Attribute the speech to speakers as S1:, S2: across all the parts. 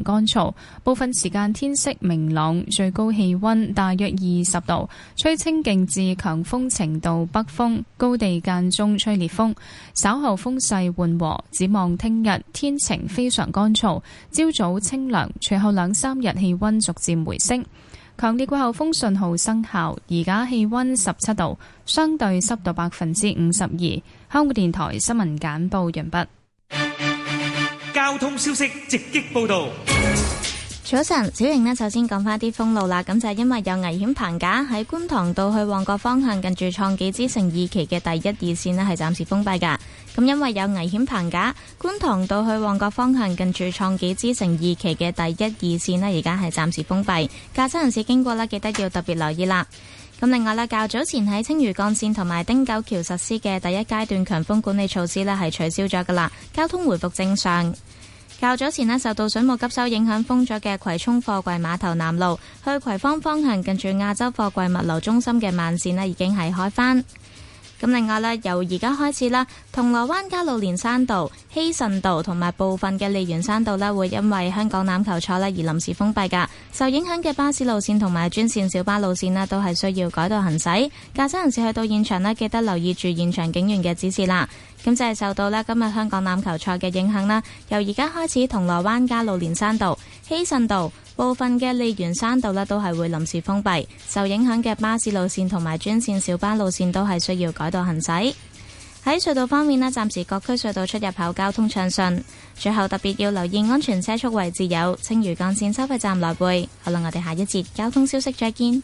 S1: 乾燥，部分時間天色明朗，最高氣溫大約20度，吹清勁至強風程度北風，高地間中吹烈風。稍後風勢緩和，展望聽日天晴非常乾燥，朝早清涼，隨後2-3日氣溫逐漸回升。強烈季候風信號生效，而家氣溫17度，相對濕度52%。香港電台新聞簡報完畢。
S2: 交通消息直擊報道。
S3: 早晨，小瑩呢，首先講翻啲封路啦。咁就係因為有危險棚架喺觀塘道去旺角方向，近住創紀之城2期嘅第1、2線呢係暫時封閉噶。咁因為有危險棚架，觀塘道去旺角方向近住創紀之城2期嘅第1、2線呢而家係暫時封閉。駕駛人士經過呢，記得要特別留意啦。咁另外啦，較早前喺青嶼幹線同埋汀九橋實施嘅第1階段強風管理措施呢係取消咗噶啦，交通回復正常。較早前呢，受到水務急修影響封咗嘅葵涌貨櫃碼頭南路去葵芳方向近住亞洲貨櫃物流中心嘅慢線呢已經係開返。咁另外呢，由而家開始啦，銅鑼灣加路連山道、希慎道同埋部分嘅利園山道呢會因為香港欖球賽呢而臨時封閉㗎。受影響嘅巴士路線同埋專線小巴路線呢都係需要改道行駛。駕駛人士去到現場呢，記得留意住現場警員嘅指示啦。咁就係受到呢今日香港欖球賽嘅影響啦，由而家開始銅鑼灣加路連山道、希慎道、部分嘅利園山道呢都係會臨時封閉，受影響嘅巴士路線同埋專線小巴路線都係需要改道行駛。喺隧道方面呢，暫時各區隧道出入口交通暢順。最後特別要留意安全車速位置有青嶼幹線收費站來回。好啦，我哋下一節交通消息再見。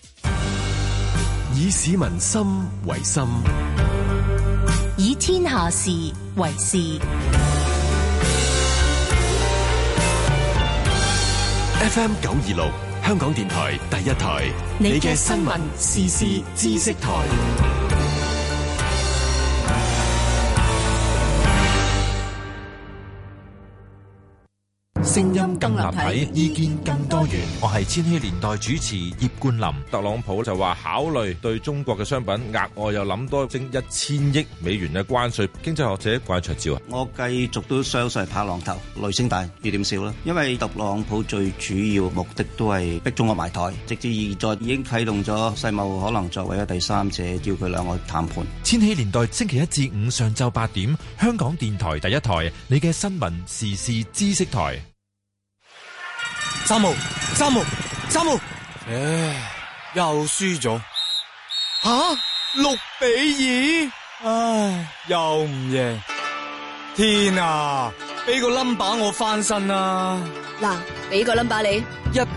S4: 以市民心為心，
S5: 以天下事為事。
S4: FM 926香港電台第一台，你嘅新聞時事知識台。聲音更立體，意見更多元。
S6: 我係千禧年代主持葉冠霖。特朗普就話考慮對中國嘅商品額外又諗多徵1000億美元嘅關稅。經濟學者關焯照啊，
S7: 我繼續都相信拍浪頭，雷聲大雨點少啦。因為特朗普最主要目的都係逼中國埋台，直至現在已經啟動咗世貿可能作為一第三者，叫佢兩個談判。
S6: 千禧年代星期1至5上晝8點，香港電台第一台，你嘅新聞時事知識台。
S8: 三號，唉，又輸咗。吓，6-2，唉，又唔贏。天啊，俾個 number 我翻身啊！
S9: 嗱，俾個 number 你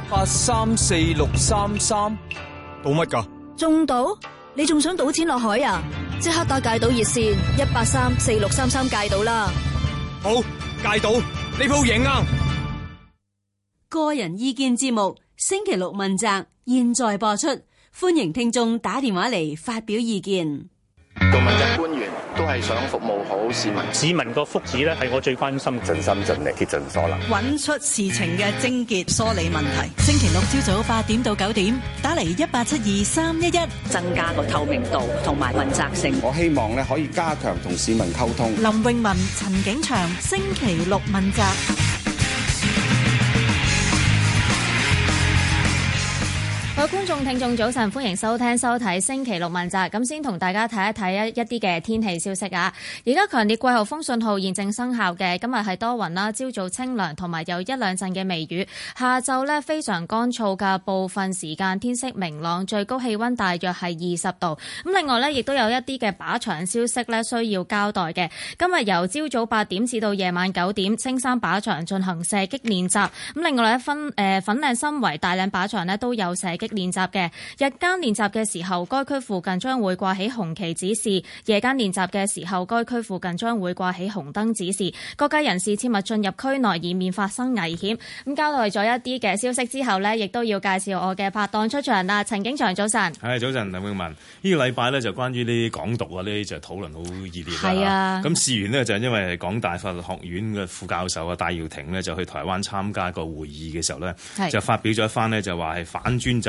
S8: ，1834633，賭乜噶？
S9: 中賭？你仲想賭錢落海啊？即刻打戒賭熱線1834633戒賭啦！
S8: 好，戒賭，呢鋪贏啊！
S10: 個人意見節目星期六問責，現在播出，歡迎聽眾打電話嚟發表意見。
S11: 做問責官員都係想服務好市民，
S12: 市民個福祉咧係我最關心，
S11: 盡心盡力竭盡所能，
S13: 揾出事情嘅症結，梳理問題。星期六朝早8點到9點，打嚟1872311，
S14: 增加個透明度同埋問責性。
S15: 我希望咧可以加強同市民溝通。
S13: 林詠雯、陳景祥，星期六問責。
S1: 各位觀眾聽眾早晨，歡迎收聽收睇星期六問責。咁先同大家睇一睇一啲嘅天氣消息啊！而家強烈季候風信號現正生效嘅，今日係多雲啦，朝早清涼同埋有1-2陣嘅微雨，下晝呢非常乾燥嘅，部分時間天色明朗，最高氣溫大約係20度。咁另外呢，亦都有一啲嘅靶場消息呢需要交代嘅。今日由朝早8點至到夜晚9點，青山靶場進行射擊練習。咁另外呢，粉嶺新圍大嶺靶場呢都有射擊練習嘅。日間練習嘅時候，該區附近將會掛起紅旗指示；夜間練習嘅時候，該區附近將會掛起紅燈指示。各界人士切勿進入區內，以免發生危險。咁交代咗一啲嘅消息之後呢，亦都要介紹我嘅拍檔出場啦。陳景祥，早晨。
S16: 係早晨，林詠雯。呢個禮拜呢，就關於呢啲港獨啊，呢啲就討論好熱烈啦。
S1: 係啊。咁
S16: 事緣呢，就係因為港大法律學院嘅副教授啊戴耀廷呢，就去台灣參加個會議嘅時候呢，就發表咗一番呢，就話係反專制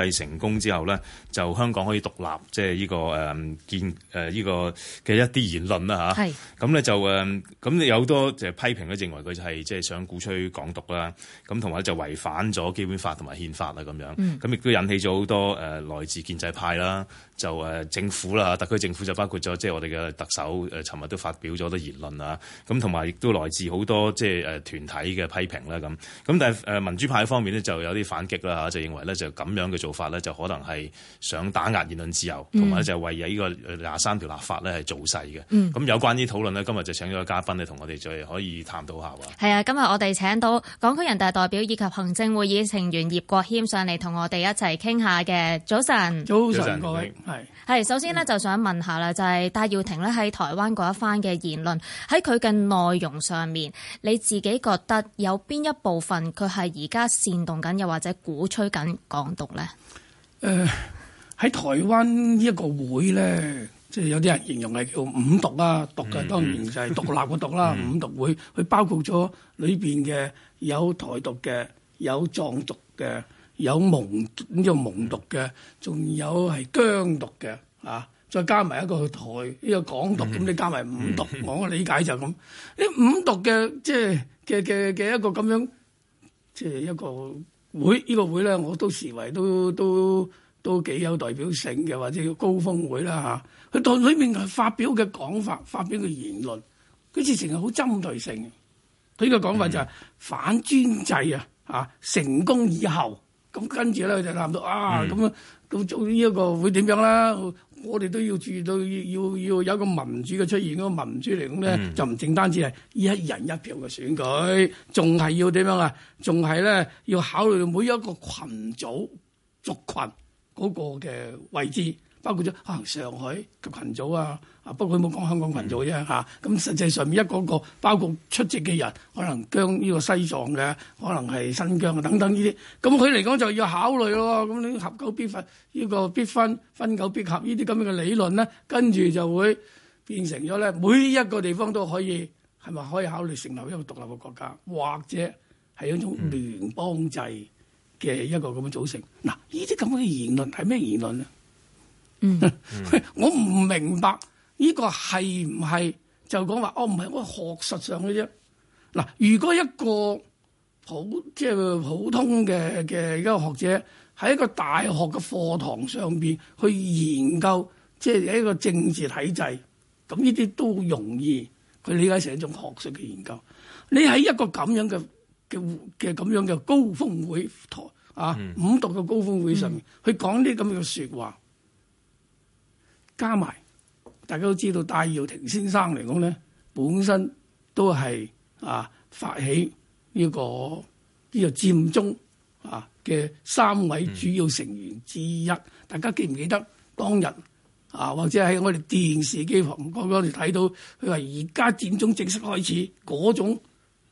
S16: 制成功之後咧，就香港可以獨立，即係呢個呢個嘅一啲言論啦嚇。咁咧就咁有好多就批評咧，認為佢就係即係想鼓吹港獨啦。咁同埋就違反咗基本法同埋憲法啦咁樣。咁亦都引起咗好多來自建制派啦，就政府啦，特區政府就包括咗即係我哋嘅特首尋日都發表咗好多言論啊。咁同埋亦都來自好多即係團體嘅批評啦咁。咁但係民主派方面呢，就有啲反擊啦嚇，就認為咧就咁樣嘅做法咧就可能係想打壓言論自由，同埋咧就係為呢個23條立法咧係造勢嘅。咁有關啲討論呢，今日就請咗個嘉賓咧同我哋再可以探討下喎。
S1: 係啊，今日我哋請到港區人大代表以及行政會議成員葉國謙上嚟同我哋一齊傾下嘅。早晨，
S17: 早晨各位，
S1: 係首先呢，就想問下啦，就係戴耀廷咧喺台灣嗰一番嘅言論，喺佢嘅內容上面，你自己覺得有邊一部分佢係而家煽動緊，又或者鼓吹緊港獨咧？
S17: 喺台灣呢一個會咧，即係有啲人形容係叫五獨啊，獨嘅當然就係獨立嘅獨啦。五獨會佢包括咗裏邊嘅有台獨嘅，有藏獨嘅，有蒙獨嘅，仲有係疆獨嘅啊！再加埋一個台呢個港獨，咁你加埋五獨，我理解就咁。呢五獨嘅即係嘅一個咁樣，即係一個會，呢個會咧，我都視為都幾有代表性嘅，或者叫高峰會啦嚇。佢當裏面係發表嘅講法、發表嘅言論，佢直情係好針對性嘅。佢嘅講法就係反專制啊！成功以後，咁跟住咧就談到咁做呢一個會點樣啦？我哋都要注意到要有一個民主嘅出現，嗰個民主嚟講咧，就唔淨單止係一人一票嘅選舉，仲係要點樣啊？仲係咧要考慮到每一個群組族群嗰個嘅位置，包括咗可能上海嘅群組啊，不過佢冇講香港群組啫嚇。咁實際上面一個包括出席嘅人，可能將呢個西藏嘅，可能係新疆等等呢啲，咁佢嚟講就要考慮咯。咁你合久必分，呢個必分，分久必合呢啲咁樣嘅理論咧，跟住就會變成咗咧，每一個地方都可以係咪可以考慮成立一個獨立嘅國家，或者係一種聯邦制嘅一個咁嘅組成。嗱，呢啲咁嘅言論係咩言論咧？我唔明白呢個係唔係就講話唔係我學術上嘅啫。嗱，如果一個即係普通嘅一個學者喺一個大學嘅課堂上邊去研究，即係一個政治體制，咁呢啲都容易佢理解成一種學術嘅研究。你喺一個咁樣嘅咁樣嘅高峰會台五獨嘅高峰會上面去講啲咁樣嘅說話。加埋，大家都知道戴耀廷先生嚟講咧，本身都係發起呢個佔中嘅3位主要成員之一。大家記唔記得當日或者喺我哋電視機旁嗰度睇到，佢話而家佔中正式開始嗰種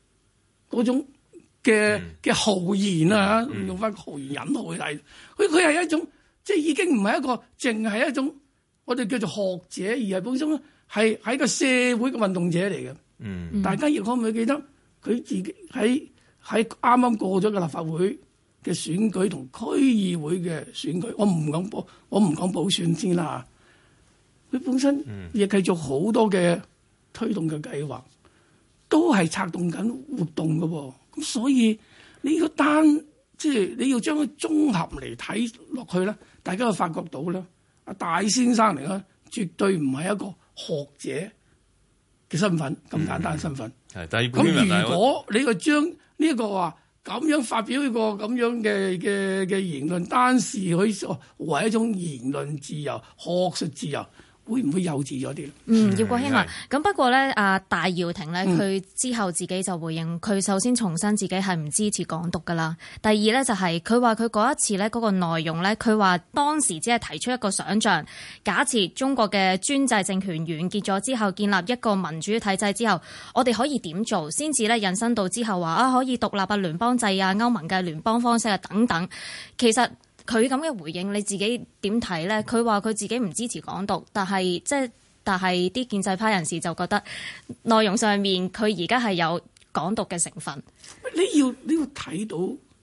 S17: 嘅豪言啊，用翻豪言引號去睇，佢係一種即係已經唔係一個淨係一種。我哋叫做學者，而係本身係喺個社會嘅運動者嚟嘅。大家亦可唔可以記得佢自己喺啱啱過咗嘅立法會嘅選舉同區議會嘅選舉，我唔講補選先啦。佢本身亦繼續好多嘅推動嘅計劃，都係策動緊活動嘅喎。咁所以你個即係你要將佢綜合嚟睇落去咧，大家就發覺到咧。戴先生嚟講，絕對唔係一個學者嘅身份，咁簡單嘅身份。咁如果你個將呢個話咁樣發表一個咁樣嘅言論，單視佢為一種言論自由、學術自由，會唔會幼稚咗啲？
S1: 葉國謙啊，咁不過咧，戴耀廷咧，佢之後自己就回應，佢首先重申自己係唔支持港獨噶啦。第二咧就係佢話佢嗰一次咧嗰個內容咧，佢話當時只係提出一個想像，假設中國嘅專制政權完結咗之後，建立一個民主體制之後，我哋可以點做，先至咧引申到之後話可以獨立聯邦制歐盟嘅聯邦方式等等。其實佢咁嘅回應，你自己點睇咧？佢話佢自己唔支持港獨，但係啲建制派人士就覺得內容上面佢而家係有港獨嘅成分。
S17: 你要睇到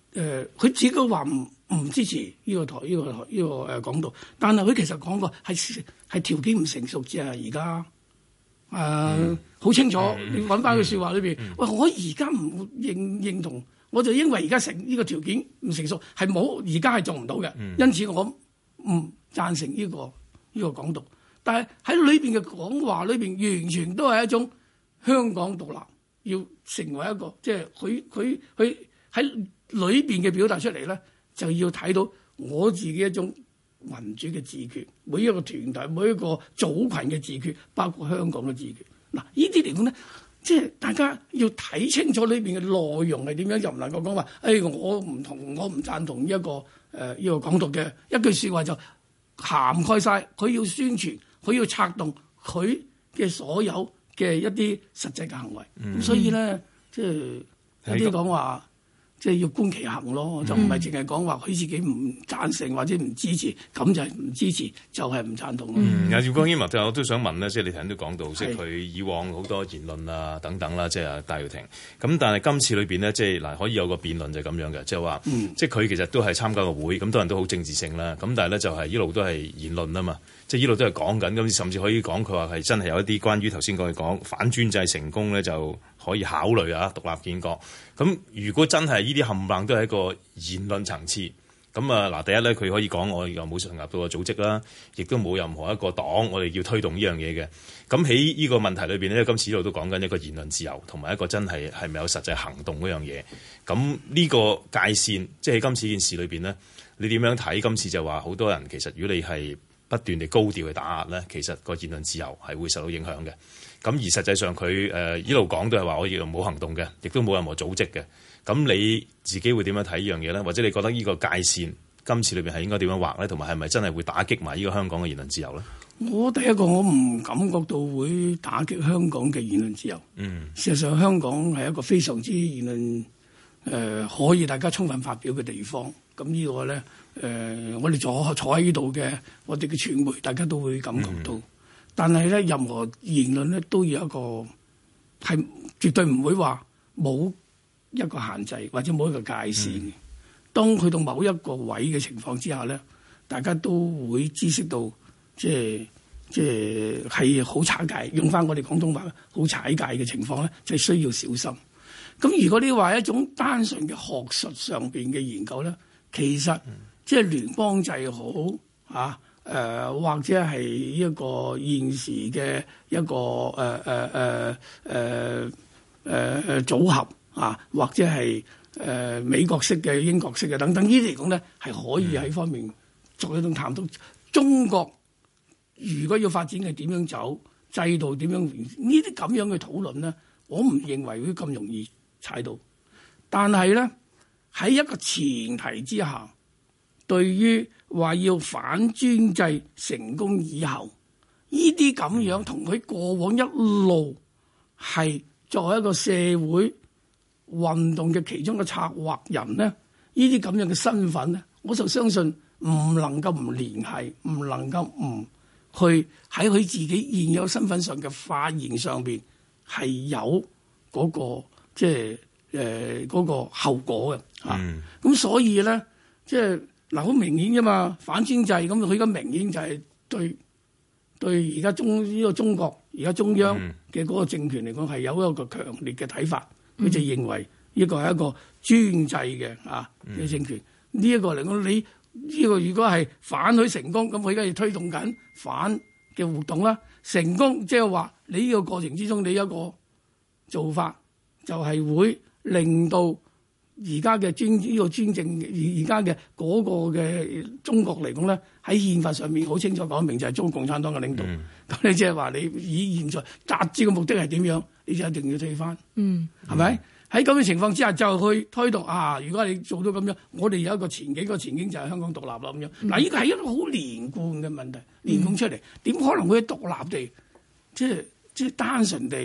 S17: 佢自己都話唔支持呢個港獨，但係佢其實講過係條件唔成熟啫，而家好清楚。你揾翻句説話裏邊，喂，我而家唔認同，我就因為而家呢個條件唔成熟，係冇而家係做唔到嘅，因此我唔贊成呢個港獨。但係喺裏邊嘅講話裏邊，完全都係一種香港獨立，要成為一個即係佢喺裏邊嘅表達出嚟咧，就要睇到我自己一種民主嘅自決，每一個團體、每一個組群嘅自決，包括香港嘅自決。嗱，呢啲嚟講咧，即係大家要睇清楚裏邊嘅內容係點樣，又唔能夠講話，我唔贊同呢一個港獨嘅一句説話就涵蓋晒。佢要宣傳，佢要策動佢嘅所有嘅一啲實際嘅行為。咁所以咧，即係有啲講話。即係要觀其行咯，就唔係淨係講話佢自己唔贊成或者唔支持，咁就係唔支持，就係唔贊同咯。
S16: 姚國興我都想問咧，即係你頭先都講到，即係佢以往好多言論啊等等啦，即係戴耀廷。咁但係今次裏邊呢，即係嗱可以有個辯論就係咁樣嘅，即係話，即係佢其實都係參加個會，咁多人都好政治性啦。咁但係咧就係一路都係言論啊嘛，即係一路都係講緊，咁甚至可以講佢話係真係有一啲關於頭先講反專制成功咧就可以考慮啊獨立建國。咁如果真係呢啲冚唪唥都係一個言論層次，咁啊嗱，第一咧佢可以講我又冇成立到個組織啦，亦都冇任何一個黨我哋要推動呢樣嘢嘅。咁喺呢個問題裏邊咧，今次呢度都講緊一個言論自由同埋一個真係係咪有實際行動嗰樣嘢。咁呢個界線，即係喺今次件事裏邊咧，你點樣睇？今次就話好多人其實如果你係不斷地高調去打壓咧，其實個言論自由係會受到影響嘅。咁而實際上佢一路講都係話我亦冇行動嘅，亦都冇任何組織嘅。咁你自己會點樣睇呢樣嘢咧？或者你覺得呢個界線今次裏邊係應該點樣畫咧？同埋係咪真係會打擊埋呢個香港嘅言論自由咧？
S17: 我第一個我唔感覺到會打擊香港嘅言論自由。事實上香港係一個非常之言論可以大家充分發表嘅地方。咁呢個咧我哋坐喺呢度嘅我哋嘅傳媒，大家都會感覺到。但係咧，任何言論咧都要一個係絕對唔會話冇一個限制或者冇一個界線。當去到某一個位嘅情況之下咧，大家都會知識到即係好踩界。用翻我哋廣東話好踩界嘅情況咧，就係需要小心。咁如果你話一種單純嘅學術上邊嘅研究咧，其實即係聯邦制好啊。或者係一個現時嘅一個組合啊，或者係美國式嘅、英國式嘅等等，呢啲嚟講咧係可以喺方面作一種探討。中國如果要發展係點樣走，制度點樣，呢啲咁樣嘅討論咧，我唔認為會咁容易踩到。但係咧喺一個前提之下，對於話要反專制成功以後，呢啲咁樣同佢過往一路係作為一個社會運動嘅其中嘅策劃人咧，呢啲咁樣嘅身份咧，我就相信唔能夠唔聯繫，唔能夠唔去喺佢自己現有身份上嘅發言上邊係有嗰個即係嗰個後果嘅嚇。咁所以咧，即係。嗱，好明顯啫嘛，反專制咁，佢而家明顯就係對而家中國而家中央嘅嗰個政權嚟講係有一個強烈嘅睇法，佢就認為呢個係一個專制嘅嘅政權。呢一個嚟講，你呢個如果係反佢成功，咁佢而家要推動緊反嘅活動啦。成功即係話你呢個過程之中，你一個做法就係會令到而家嘅呢個專政，而家嘅嗰個嘅中國嚟講咧，喺憲法上面好清楚講明就係中國共產黨嘅領導。咁你即係話你以現在達至嘅目的係點樣，你就一定要退翻。係咪？喺咁嘅情況之下就去推動如果你做到咁樣，我哋有一個前景，個前景就係香港獨立啦咁樣。嗱，呢個係一個好連貫嘅問題，連貫出嚟點可能會獨立地即係單純地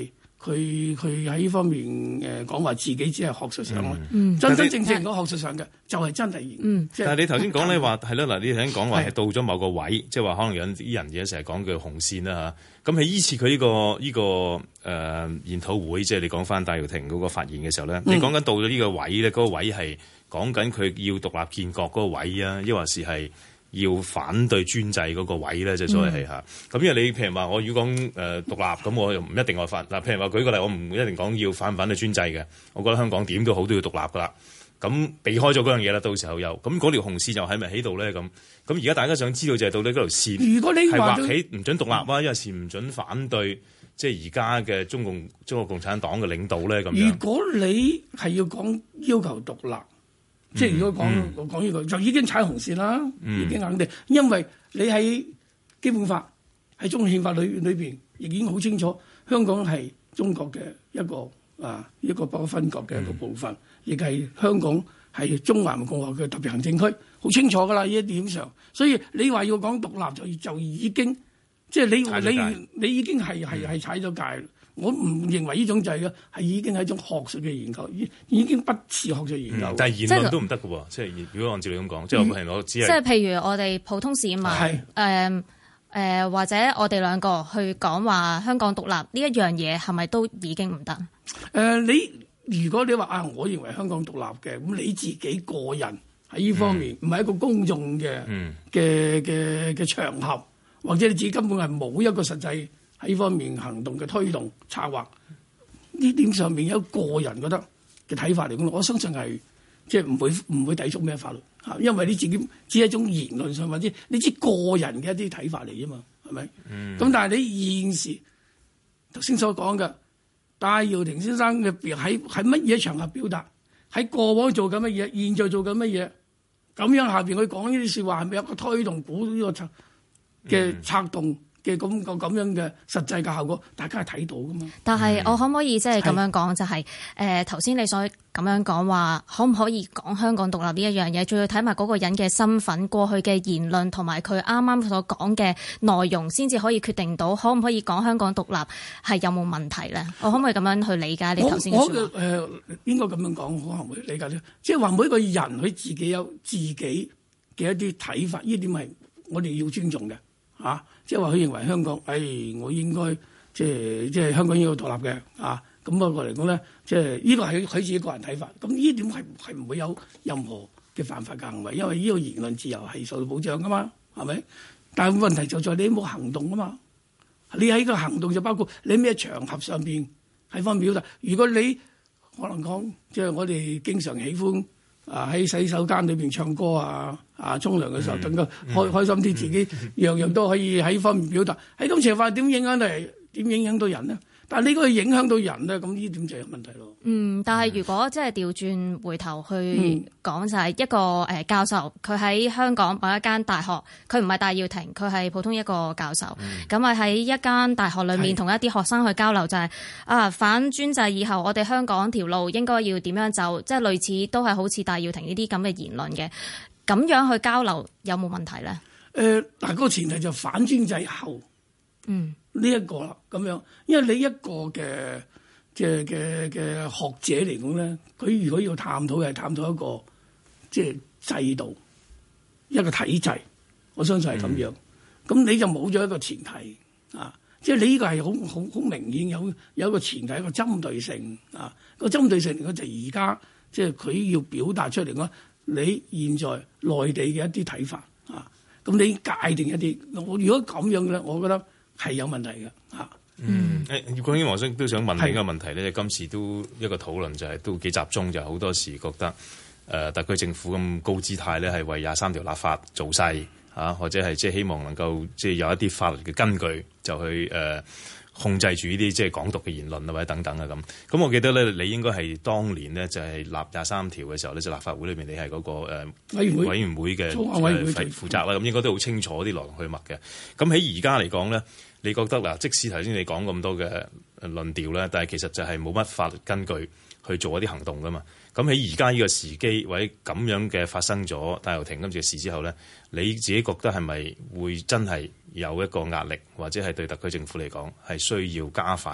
S17: 佢喺呢方面講話自己只係學術上咯，真正講學術上嘅就係真係
S16: 但係你頭先講咧話係啦，嗱，你頭先講話係到咗某個位，即係話可能有啲人而家成日講叫紅線啦嚇。咁喺依次佢呢個研討會，即係你講翻戴耀廷嗰個發言嘅時候咧，你講緊到咗呢個位咧，嗰個位係講緊佢要獨立建國嗰個位啊，抑或係要反對專制嗰個位咧，即係所謂係嚇。咁因為你譬如話，我如果講獨立，咁我又唔一定話反嗱。譬如話舉個例，我唔一定講要反唔反對專制嘅。我覺得香港點都好都要獨立噶啦。咁避開咗嗰樣嘢啦，到時候又咁嗰條紅線又喺咪喺度咧？咁而家大家想知道就係到底嗰條線，如果你係劃起唔準獨立啊，因為是唔準反對，即係而家嘅中國共產黨嘅領導咧咁樣。如果你係要求獨立。即係如果講呢個就已經踩紅線啦，已經肯定，因為你喺基本法喺中國憲法裏邊已經好清楚，香港係中國嘅一個不可分割嘅一個部分，亦係香港係中華人民共和國嘅特別行政區，好清楚㗎啦呢一點上。所以你話要講獨立就已經即係你已經係踩咗界。我唔認為呢種制嘅係已經係一種學術嘅研究，已經不似學術研究。但係言論都唔得嘅喎，即係如果按照你咁講，即係我係攞只係即係譬如我哋普通市民，或者我哋兩個去講話香港獨立呢一樣嘢，係咪都已經唔得？如果你話我認為香港獨立嘅，咁你自己個人喺呢方面唔係一個公眾嘅場合，或者你自己根本係冇一個實際喺呢方面行動嘅推動策劃，呢點上面有個人覺得嘅睇法嚟講，我相信係即係唔會抵觸咩法律嚇，因為你自己只係一種言論上或者你知個人嘅一啲睇法嚟啫嘛，係咪？咁但係你現時頭先所講嘅戴耀廷先生嘅喺乜嘢場合表達，喺過往做緊乜嘢，現在做緊乜嘢，咁樣下邊佢講呢啲説話係咪有個推動鼓呢個嘅策動？嘅咁樣嘅實際嘅效果，大家係睇到噶嘛？但係我可唔可以即係咁樣講，就係頭先你所咁樣講話，可唔可以講香港獨立呢一樣嘢？仲要睇埋嗰個人嘅身份、過去嘅言論同埋佢啱啱所講嘅內容，先至可以決定到可唔可以講香港獨立係有冇問題咧？我可唔可以咁樣去理解你頭先嘅説話？應該咁樣講，可能會理解咧。即係話每一個人佢自己有自己嘅一啲睇法，呢點係我哋要尊重嘅嚇。即係話佢認為香港，我應該即係香港應該獨立嘅啊！咁不過嚟講咧，即係呢個係佢自己個人睇法。咁呢點係唔會有任何嘅犯法嘅行為，因為呢個言論自由係受到保障噶嘛，係咪？但係問題就在你冇行動啊嘛！你喺個行動就包括你咩場合上邊喺方面表達。如果你可能講，即係我哋經常喜歡喺洗手間裏邊唱歌沖涼嘅時候更加開心啲，自己樣樣都可以喺方面表達。喺咁情況點影響到人呢？但係呢個影響到人咧，咁呢點就有問題咯。但係如果即係調轉回頭去講，就係一個教授，佢喺香港某一間大學，佢唔係戴耀廷，佢係普通一個教授。咁啊喺一間大學裏面同一啲學生去交流，就係反專制以後，我哋香港條路應該要點樣走，即係類似都係好似戴耀廷呢啲咁嘅言論嘅。咁樣去交流有冇問題咧？嗱，個前提就反專制後。呢一個啦，咁樣，因為你一個嘅學者嚟講咧，佢如果要探討係探討一個即係制度一個體制，我相信係咁樣。咁你就冇咗一個前提啊，即係你呢個係好明顯有一個前提，一個針對性啊。個針對性嚟講就而家即係佢要表達出嚟講，你現在內地嘅一啲睇法啊，咁你界定一啲，我如果咁樣嘅咧，我覺得係有問題嘅嚇。葉國謙，我都想問另一個問題咧，今次都一個討論就係都幾集中，就好多時覺得特區政府咁高姿態咧，係為23條立法造勢嚇，或者係即係希望能夠即係有一啲法律嘅根據，就去控制住呢啲即係港獨嘅言論啊，或者等等啊咁。咁我記得咧，你應該係當年呢，就係立23條嘅時候咧，就立法會裏邊你係嗰個委員會嘅負責啦，咁應該都好清楚啲來龍去脈嘅。咁喺而家嚟講咧，你覺得嗱，即使頭先你講咁多嘅論調咧，但係其實就係冇乜法律根據去做一啲行動噶嘛。咁喺而家呢個時機或者咁樣嘅發生咗戴耀廷今次嘅事之後咧，你自己覺得係咪會真係有一個壓力，或者係對特區政府嚟講係需要加快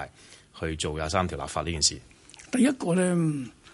S16: 去做23條立法呢件事？
S17: 第一個咧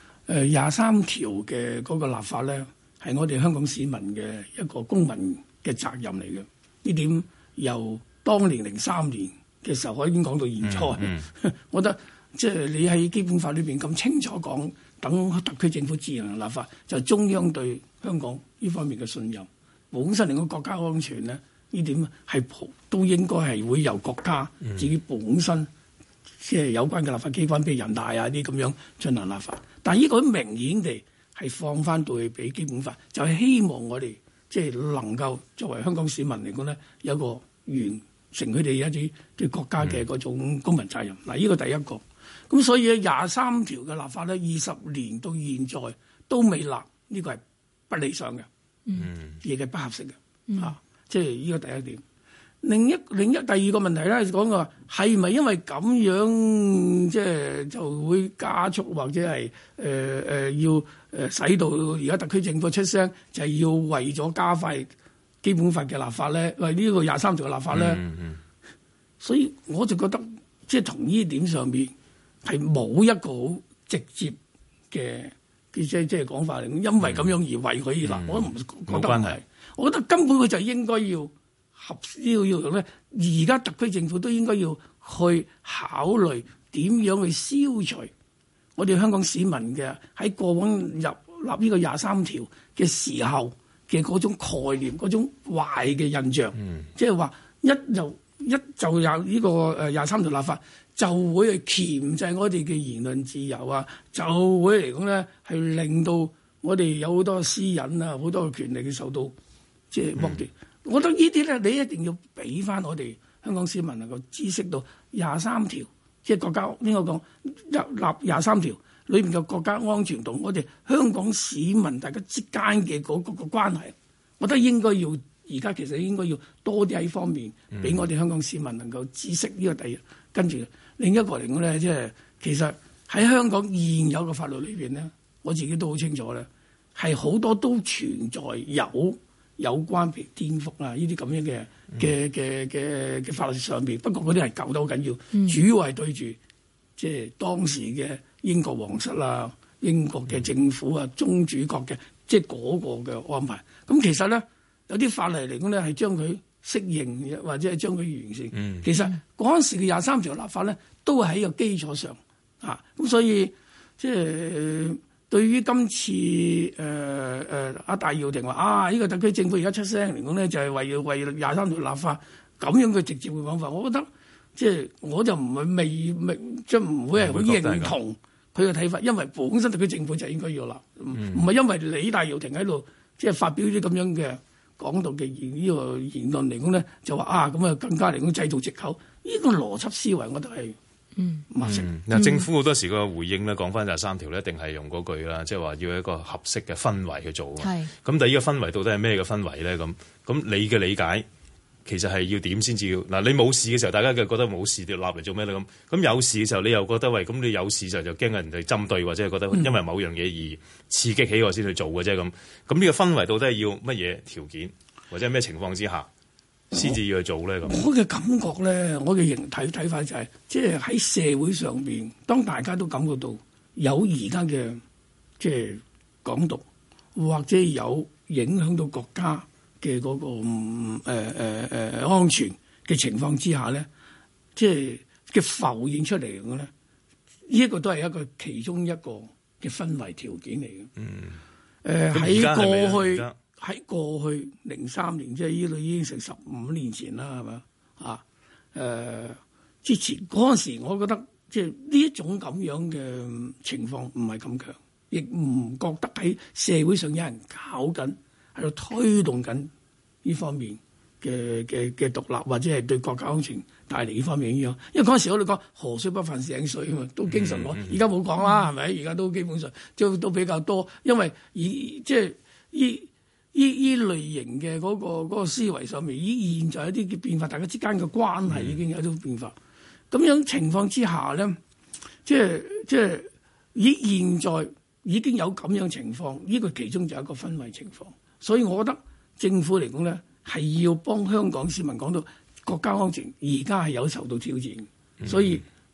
S17: ，23條嘅嗰個立法咧，係我哋香港市民嘅一個公民嘅責任嚟嘅。呢點由當年03年嘅時候，我已經講到現在。我覺得即係你喺基本法裏邊咁清楚講，等特區政府自行立法，就係中央對香港呢方面嘅信任。本身嚟講國家安全咧，呢點係都應該係會由國家自己本身即係有關嘅立法機關，譬如人大啊啲咁樣進行立法。但係呢個明顯地係放翻到去俾基本法，就係希望我哋即係能夠作為香港市民嚟講咧，有一個完成佢哋一啲對國家嘅嗰種公民責任。嗱，呢個第一個。咁所以23條嘅立法咧，20年到現在都未立，呢個係不理想嘅，亦係不合適嘅。即係呢個第一點。另一第二個問題咧，講話係咪因為咁樣即係就會加速或者係要使到而家特區政府出聲，就係要為咗加快基本法嘅立法咧，為呢個23條嘅立法咧。所以我就覺得即係從呢點上邊係冇一個好直接嘅即係講法嚟，因為咁樣而為佢而立，我唔覺得係。我覺得根本佢就應該要要咧，而家特區政府都應該要去考慮點樣去消除我哋香港市民嘅喺過往入立呢個23條嘅時候嘅嗰種概念、嗰種壞嘅印象，即係話一就有呢個23條立法，就會去鉗制我哋嘅言論自由啊，就會嚟講咧係令到我哋有好多私隱啊、好多嘅權利嘅受到即係剝奪。我覺得呢啲咧，你一定要俾翻我哋香港市民能夠知識到23條，即係國家應該講立23條裏面嘅國家安全同我哋香港市民大家之間嘅嗰個關係，我覺得應該要而家其實應該要多啲喺方面俾我哋香港市民能夠知識呢個第一。跟住另一個嚟講咧，即係其實喺香港現有嘅法律裏邊咧，我自己都好清楚咧，係好多都存在有關譬如顛覆啊呢啲咁樣嘅法律上邊，不過嗰啲係舊得好緊要，主要係對住即係當時嘅英國皇室啊、英國嘅政府啊、宗主國嘅即係嗰個嘅安排。咁其實咧有啲法例嚟講咧係將佢適應或者係將佢完善。其實嗰陣時嘅23條立法咧都係喺個基礎上啊，咁所以即係。對於今次阿戴耀廷話呢個特區政府而家出聲嚟講咧，就係為23條立法咁樣嘅直接嘅講法，我覺得即係我就唔係未即係唔會係好認同佢嘅睇法，因為本身特區政府就應該要立，唔係因為李戴耀廷喺度即係發表啲咁樣嘅港獨嘅呢個言論嚟講咧，就話咁啊更加嚟講製造藉口，呢個邏輯思維我都係。
S16: 政府好多時個回應咧，講翻23條咧，一定係用嗰句啦，即係話要一個合適嘅氛圍去做。咁但係呢個氛圍到底係咩嘅氛圍咧？咁你嘅理解其實係要點先至要嗱？你冇事嘅時候，大家就覺得冇事，就立嚟做咩咧？咁有事嘅時候，你又覺得喂，咁你有事就驚人哋針對，或者係覺得因為某樣嘢而刺激起我先去做嘅啫。咁呢個氛圍到底係要乜嘢條件，或者係咩情況之下先至要去做咧？咁
S17: 我嘅感覺咧，我嘅睇法就係，即係喺社會上邊，當大家都感覺到有而家嘅即係港獨，或者有影響到國家嘅嗰個安全嘅情況之下咧，即係嘅浮現出嚟嘅咧，呢一個都係一個其中一個嘅氛圍條件嚟嘅。喺過去03年，即係呢度已經成15年前啦，係嘛？之前嗰陣時，我覺得即係呢一種咁樣嘅情況唔係咁強，亦唔覺得喺社會上有人搞緊，喺度推動緊呢方面嘅獨立，或者係對國家安全帶嚟呢方面影響。因為嗰陣時我哋講河水不犯井水啊嘛，都經常講，而家冇講啦，係咪？而家都基本上都比較多，因為即係依類型嘅嗰個思維上面，依現在一啲嘅變化，大家之間嘅關係已經有啲變化。咁樣情況之下咧，即係以現在已經有咁樣情況，呢個其中就係一個氛圍情況。所以我覺得政府嚟講咧，係要幫香港市民講到國家安全而家係有受到挑戰，所以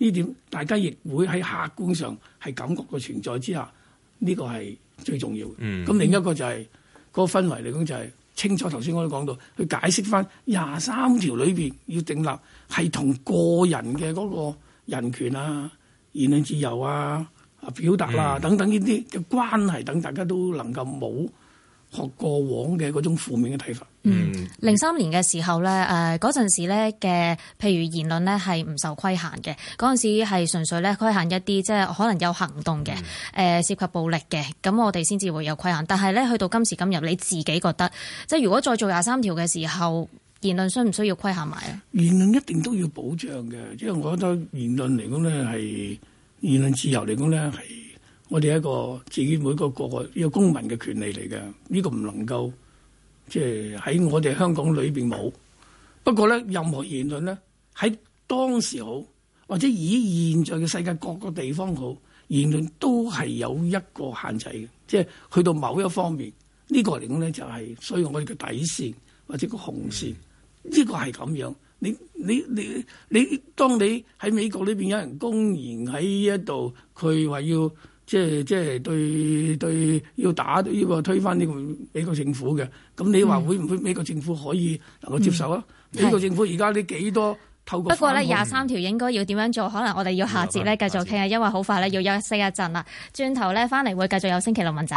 S17: 呢點大家亦會喺客觀上係感覺嘅存在之下，呢個係最重要嘅。咁另一個就係嗰個氛圍嚟講就係清楚。頭先我都講到，去解釋翻23條裏邊要訂立係同個人嘅嗰個人權啊、言論自由啊、表達啦等等呢啲嘅關係，等大家都能夠冇學過往嘅嗰種負面嘅睇法。
S1: 03年嘅時候咧，嗰陣時咧嘅譬如言論咧係唔受規限嘅，嗰陣時係純粹咧規限一啲即係可能有行動嘅，涉及暴力嘅，咁我哋先至會有規限。但係咧去到今時今日，你自己覺得即係如果再做23條嘅時候，言論需唔需要規限埋啊？言論一定都要保障嘅，即係我覺得言論嚟講咧係言論自由嚟講咧係我哋一個自己每個呢個公民嘅權利嚟嘅，呢個唔能夠即係喺我哋香港裏邊冇。不過咧，任何言論咧喺當時好，或者以現在嘅世界各個地方好，言論都係有一個限制嘅，即係去到某一方面呢個嚟講咧就係，所以我哋嘅底線或者個紅線呢個係咁樣。你當你喺美國呢邊有人公然喺一度，佢話要即係對要打呢個推翻呢個美國政府嘅，咁你話會唔會美國政府可以能夠接受啊？美國政府而家呢幾多透過不過咧23條應該要點樣做？可能我哋要下節咧繼續傾啊，因為好快咧要休息一陣啦。轉頭咧翻嚟會繼續有星期六問責。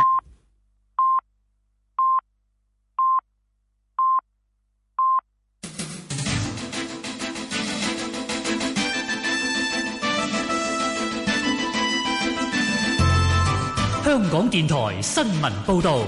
S2: 香港電台新聞報導。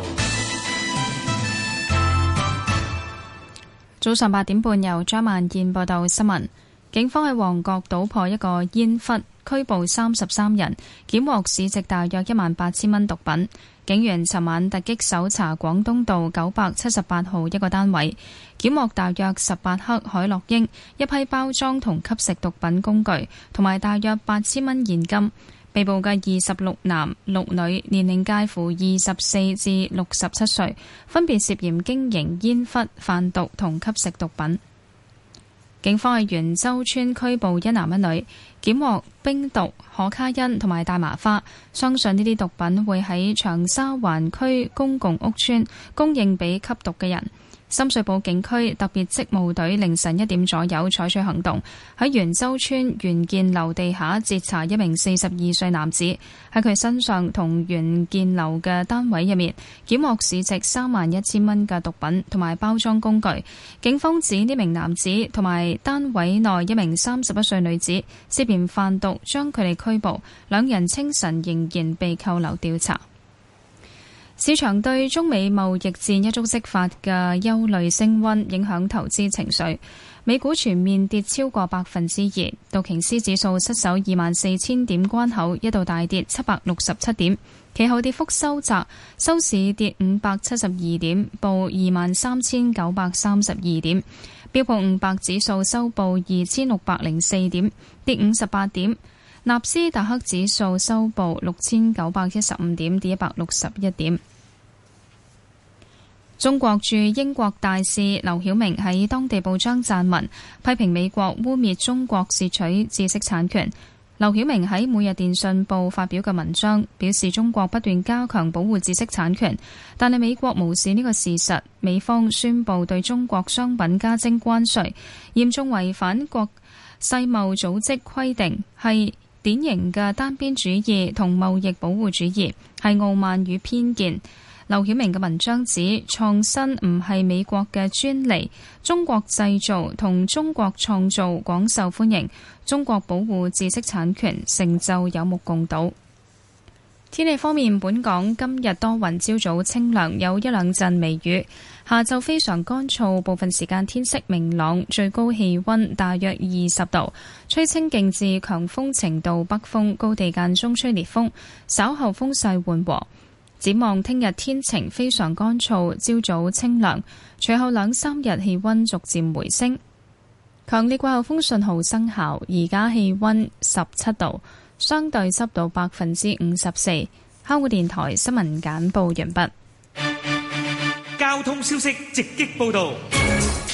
S18: 早上8點半，由張萬燕報道新聞。警方喺旺角搗破一個煙窟，拘捕33人，檢獲市值大約18000蚊毒品。警員尋晚突擊搜查廣東道978號一個單位，檢獲大約18克海洛因、一批包裝同吸食毒品工具，同埋大約8000蚊現金。被捕嘅26男6女，年齡介乎24至67歲，分別涉嫌經營煙窟、販毒同吸食毒品。警方喺元洲村拘捕一男一女，檢獲冰毒、可卡因同埋大麻花，相信呢啲毒品會喺長沙灣區公共屋邨供應俾吸毒嘅人。深水埗警區特別職務隊凌晨1點左右採取行動，喺元洲村元建樓地下截查一名42歲男子，喺佢身上同元建樓嘅單位入面檢獲市值31000蚊嘅毒品同埋包裝工具。警方指呢名男子同埋單位內一名31歲女子涉嫌販毒，將佢哋拘捕，兩人清晨仍然被扣留調查。市場對中美貿易戰一觸即發嘅憂慮升溫，影響投資情緒。美股全面跌超過2%，道瓊斯指數失守24000點關口，一度大跌767點，其後跌幅收窄，收市跌572點，報23932點。標普500指數收報2604點，跌58點。納斯達克指數收報6915點，跌161點。中國駐英國大使劉曉明喺當地報章撰文，批評美國污衊中國竊取知識產權。劉曉明喺每日電訊報發表嘅文章表示，中國不斷加強保護知識產權，但係美國無視呢個事實，美方宣布對中國商品加徵關稅，嚴重違反國世貿組織規定，係典型嘅單邊主義同貿易保護主義，係傲慢與偏見。劉曉明嘅文章指，創新唔係美國嘅專利，中國製造同中國創造廣受歡迎，中國保護知識產權成就有目共睹。天氣方面，本港今日多雲，朝早清涼，有一兩陣微雨，下晝非常乾燥，部分時間天色明朗，最高氣溫大約20度，吹清勁至強風程度北風，高地間中吹烈風，稍後風勢緩和。展望聽日天晴，非常乾燥，朝早清涼，隨後2-3日氣溫逐漸回升。強烈季候風信號生效，而家氣溫17度，相對濕度54%。香港電台新聞簡報完畢。
S2: 交通消息直擊報道。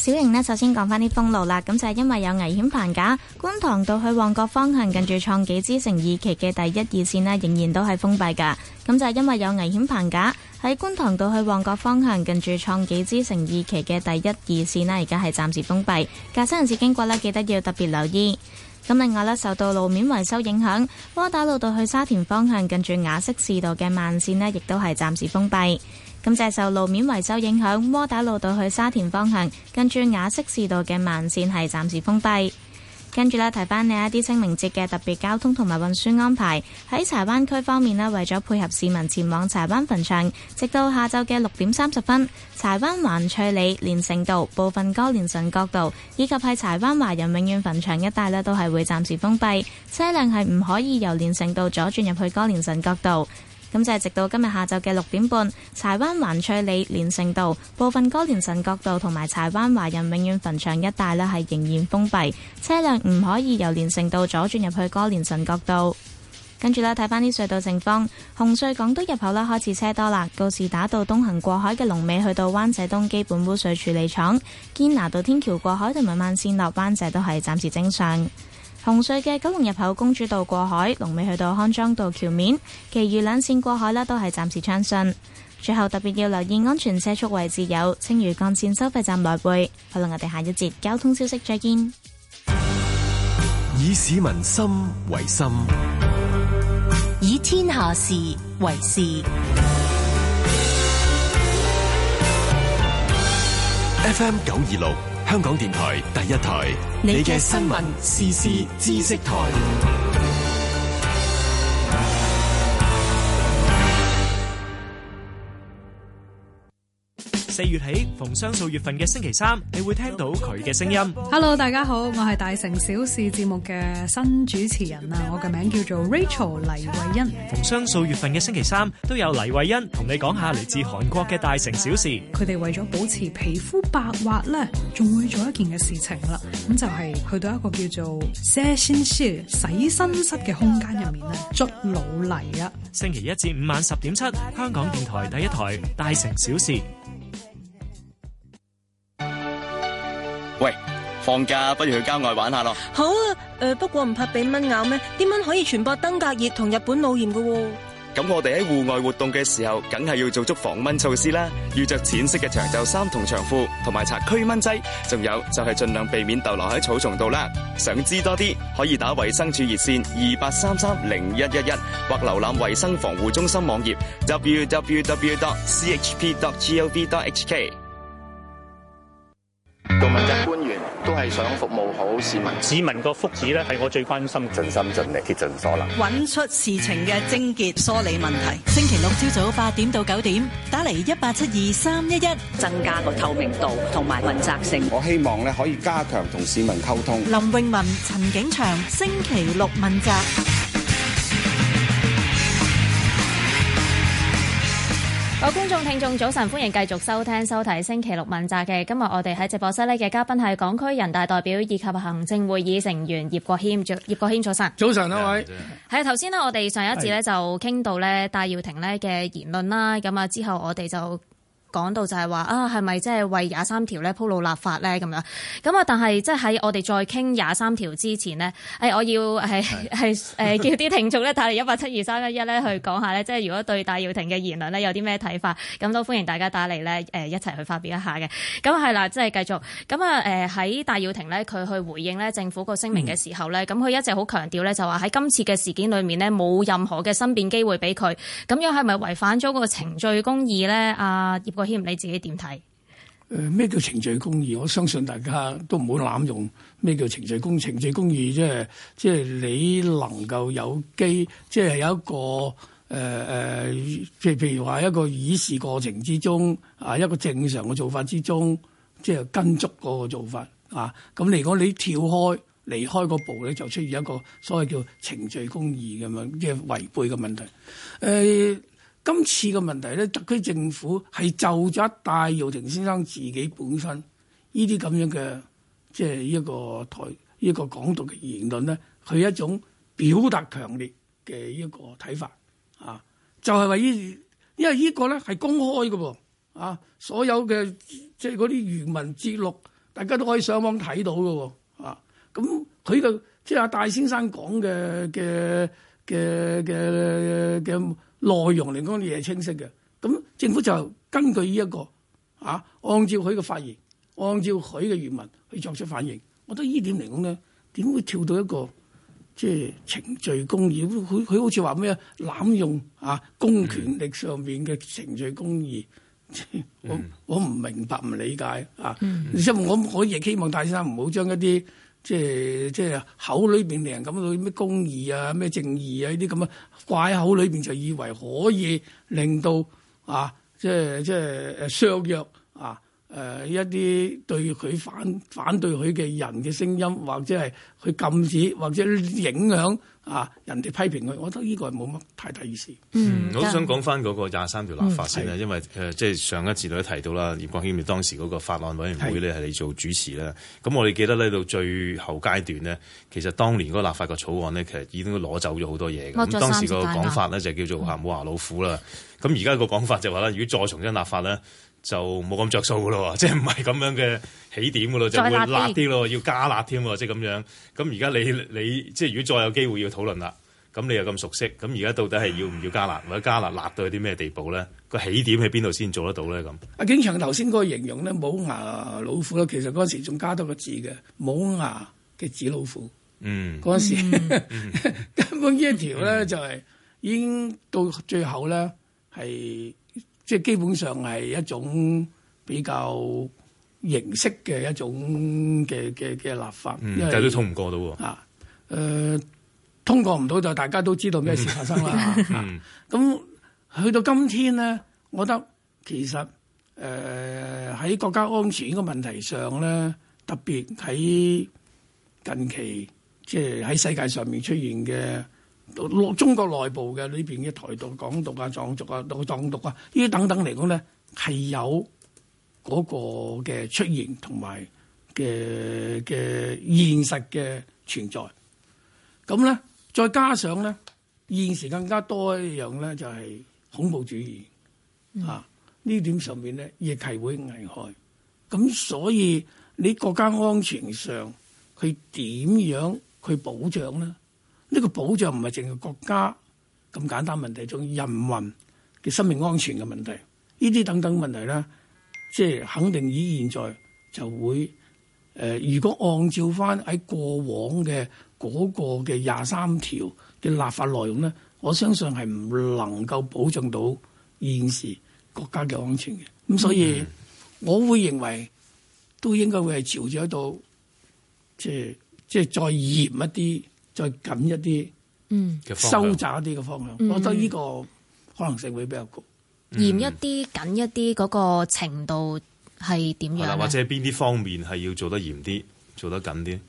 S3: 小瑩呢，首先講翻啲封路啦。咁就係因為有危險棚架，觀塘道去旺角方向近住創紀之城2期嘅第1、2線呢，仍然都係封閉噶。咁就係因為有危險棚架喺觀塘道去旺角方向近住創紀之城2期嘅第1、2線呢，而家係暫時封閉。駕駛人士經過呢，記得要特別留意。咁另外呢，受到路面維修影響，窩打老道去沙田方向近住雅息士道嘅慢線呢，亦都係暫時封閉。咁就係受路面維修影響，窩打老道去沙田方向近住雅息士道嘅慢線係暫時封閉。跟住呢，提翻你一啲清明節嘅特別交通同埋運輸安排。喺柴灣區方面呢，為咗配合市民前往柴灣墳場，直到下晝嘅6點30分，柴灣環翠里連城道部分歌連臣角道以及係柴灣華人永遠墳場一帶呢，都係會暫時封閉，車輛係唔可以由連城道左轉入去歌連臣角道。咁就係直到今日下晝嘅6點半，柴灣環翠里連城道部分歌連臣角道同埋柴灣華人永遠墳場一帶呢，係仍然封閉，車輛唔可以由連城道左轉入去歌連臣角道。跟住呢，睇翻啲隧道情況，紅隧港島入口啦開始車多啦，告士打道東行過海嘅龍尾去到灣仔東基本污水處理廠，堅拿道天橋過海同埋慢線落灣仔都係暫時正常。紅隧嘅九龍入口公主道過海，龍尾去到康莊道橋面，其餘兩線過海啦都係暫時暢順。最後特別要留意安全車速位置有青嶼幹線收費站來回。好啦，我哋下一節交通消息再見。
S4: 以市民心為心，
S5: 以天下事為事。
S4: FM 926。香港電台第一台，你嘅新聞時事知識台。
S2: 4月起，逢雙數月份嘅星期三，你會聽到佢嘅聲音。
S19: Hello， 大家好，我係大城小事節目嘅新主持人啊，我嘅名叫做 Rachel 黎慧欣。
S2: 逢雙數月份嘅星期三，都有黎慧欣同你講下嚟自韓國嘅大城小事。
S19: 佢哋為咗保持皮膚白滑咧，仲會做一件嘅事情啦。咁就係去到一個叫做洗身室嘅空間入面咧，捽老泥啊。
S2: 星期一至五晚10點7，香港電台第一台大城小事。
S20: 喂，放假不如去郊外玩下咯。
S21: 好啊，不過唔怕俾蚊咬咩？啲蚊可以傳播登革熱同日本腦炎㗎喎。
S20: 咁我哋喺戶外活動嘅時候，梗係要做足防蚊措施啦。要着淺色嘅長袖衫同長褲，同埋搽驅蚊劑。仲有就係盡量避免逗留喺草叢度啦。想知多啲，可以打衛生署熱線28330111，或瀏覽衛生防護中心網頁 www.chp.gov.hk。
S11: 做問責官員都係想服務好市民，
S12: 市民個福祉咧係我最關心，
S22: 盡心盡力竭盡所能，
S13: 揾出事情嘅症結，梳理問題。星期六朝早8點到9點，打嚟1872-311，
S14: 增加個透明度同埋問責性。
S15: 我希望咧可以加強同市民溝通。
S13: 林詠雯、陳景祥，星期六問責。
S1: 各位觀眾聽眾早晨，歡迎繼續收聽收睇星期六問責嘅。今日我哋喺直播室呢嘅嘉賓係港區人大代表以及行政會議成員葉國謙。葉國謙早晨。
S17: 早晨啊，位
S1: 係頭先呢，我哋上一節呢就傾到呢戴耀廷呢嘅言論啦，咁啊之後我哋就講到就係話啊，係咪即係為23條咧鋪路立法咧咁樣？咁啊，但係即係喺我哋再傾23條之前呢，我要係叫啲聽眾咧打嚟1872-311咧去講下咧，即係如果對戴耀廷嘅言論咧有啲咩睇法，咁都歡迎大家打嚟咧一齊去發表一下嘅。咁係啦，即係繼續咁啊喺戴耀廷咧佢去回應咧政府個聲明嘅時候咧，咁佢一直好強調咧就話喺今次嘅事件裏面呢，冇任何嘅申辯機會俾佢，咁樣係咪違反咗個程序公義咧？葉國謙你自己點睇？
S17: 咩叫程序公義？我相信大家都唔好濫用咩叫程序公義。程序公義即係你能夠有機，即係有一個譬如話一個議事過程之中啊，一個正常嘅做法之中，即係跟足嗰個做法啊。咁如果你跳開離開嗰步咧，就出現一個所謂叫程序公義咁樣嘅違背嘅問題。今次嘅問題咧，特區政府係就咗戴耀廷先生自己本身呢啲咁樣嘅，即係一個港獨嘅言論咧，佢一種表達強烈嘅一個睇法啊，就係話因為呢個咧係公開嘅噃啊，所有嘅即係嗰啲原文節錄大家都可以上網睇到嘅喎。咁佢嘅即係阿戴先生講嘅內容嚟講，嘢係清晰嘅。咁政府就根據呢一個按照佢嘅發言，按照佢嘅原文去作出反應。我覺得呢點嚟講咧，點會跳到一個即係程序公義？佢好似話咩濫用公權力上面嘅程序公義。我唔明白唔理解因為我亦希望戴先生唔好將一啲即係口裏邊令人感到咩公義啊、咩正義啊呢啲咁掛喺口裏邊就以為可以令到即係削弱一啲對佢反對佢嘅人嘅聲音，或者係去禁止或者影響人哋批評佢，我覺得呢個係冇乜太大意思。
S16: 我都想講翻嗰個23條立法先啦，因為即係上一節都提到啦，葉國謙當時嗰個法案委員會咧係你做主持啦。咁我哋記得咧到最後階段咧，其實當年嗰個立法個草案咧，其實已經攞走咗好多嘢嘅。咁當時個講法咧就叫做冇牙老虎啦。咁而家個講法就話咧，如果再重新立法咧，就冇咁着數噶咯，即係唔係咁樣嘅起點噶咯，就會辣啲咯，要加辣添喎，即係咁樣。咁而家你即係如果再有機會要討論啦，咁你又咁熟悉，咁而家到底係要唔要加辣，或者加辣辣到去啲咩地步咧？個起點喺邊度先做得到咧？咁
S17: 阿景祥頭先嗰個形容咧，冇牙老虎咧，其實嗰陣時仲加多個字嘅，冇牙嘅紙老虎。嗰陣時根本呢一條咧就係已經到最後咧係。即係基本上係一種比較形式嘅一種嘅立法，但係
S16: 都通唔過到喎。
S17: 通過唔到就大家都知道咩事發生啦。咁去到今天咧，我覺得其實喺國家安全呢個問題上咧，特別喺近期即係喺世界上面出現嘅。中國內部嘅裏邊嘅台獨、港獨藏族藏獨呢啲等等嚟講咧，係有嗰個嘅出現同埋嘅現實嘅存在。咁咧，再加上咧，現時更加多一樣咧，就係恐怖主義呢點上面咧，亦係會危害。咁所以你國家安全上，佢點樣去保障咧？呢個保障唔係淨係國家咁簡單問題，仲有人民嘅生命安全嘅問題，呢啲等等問題咧，即係肯定以現在就會如果按照翻喺過往嘅嗰個嘅23條嘅立法內容咧，我相信係唔能夠保障到現時國家嘅安全嘅。咁所以我會認為都應該會係朝住喺度，即係再嚴一啲。再緊一啲，收窄一啲嘅方向，我覺得呢個可能性會比較高。
S1: 嚴一啲、緊一啲嗰個程度係點樣咧？
S16: 或者邊啲方面係要做得嚴啲、做得緊啲？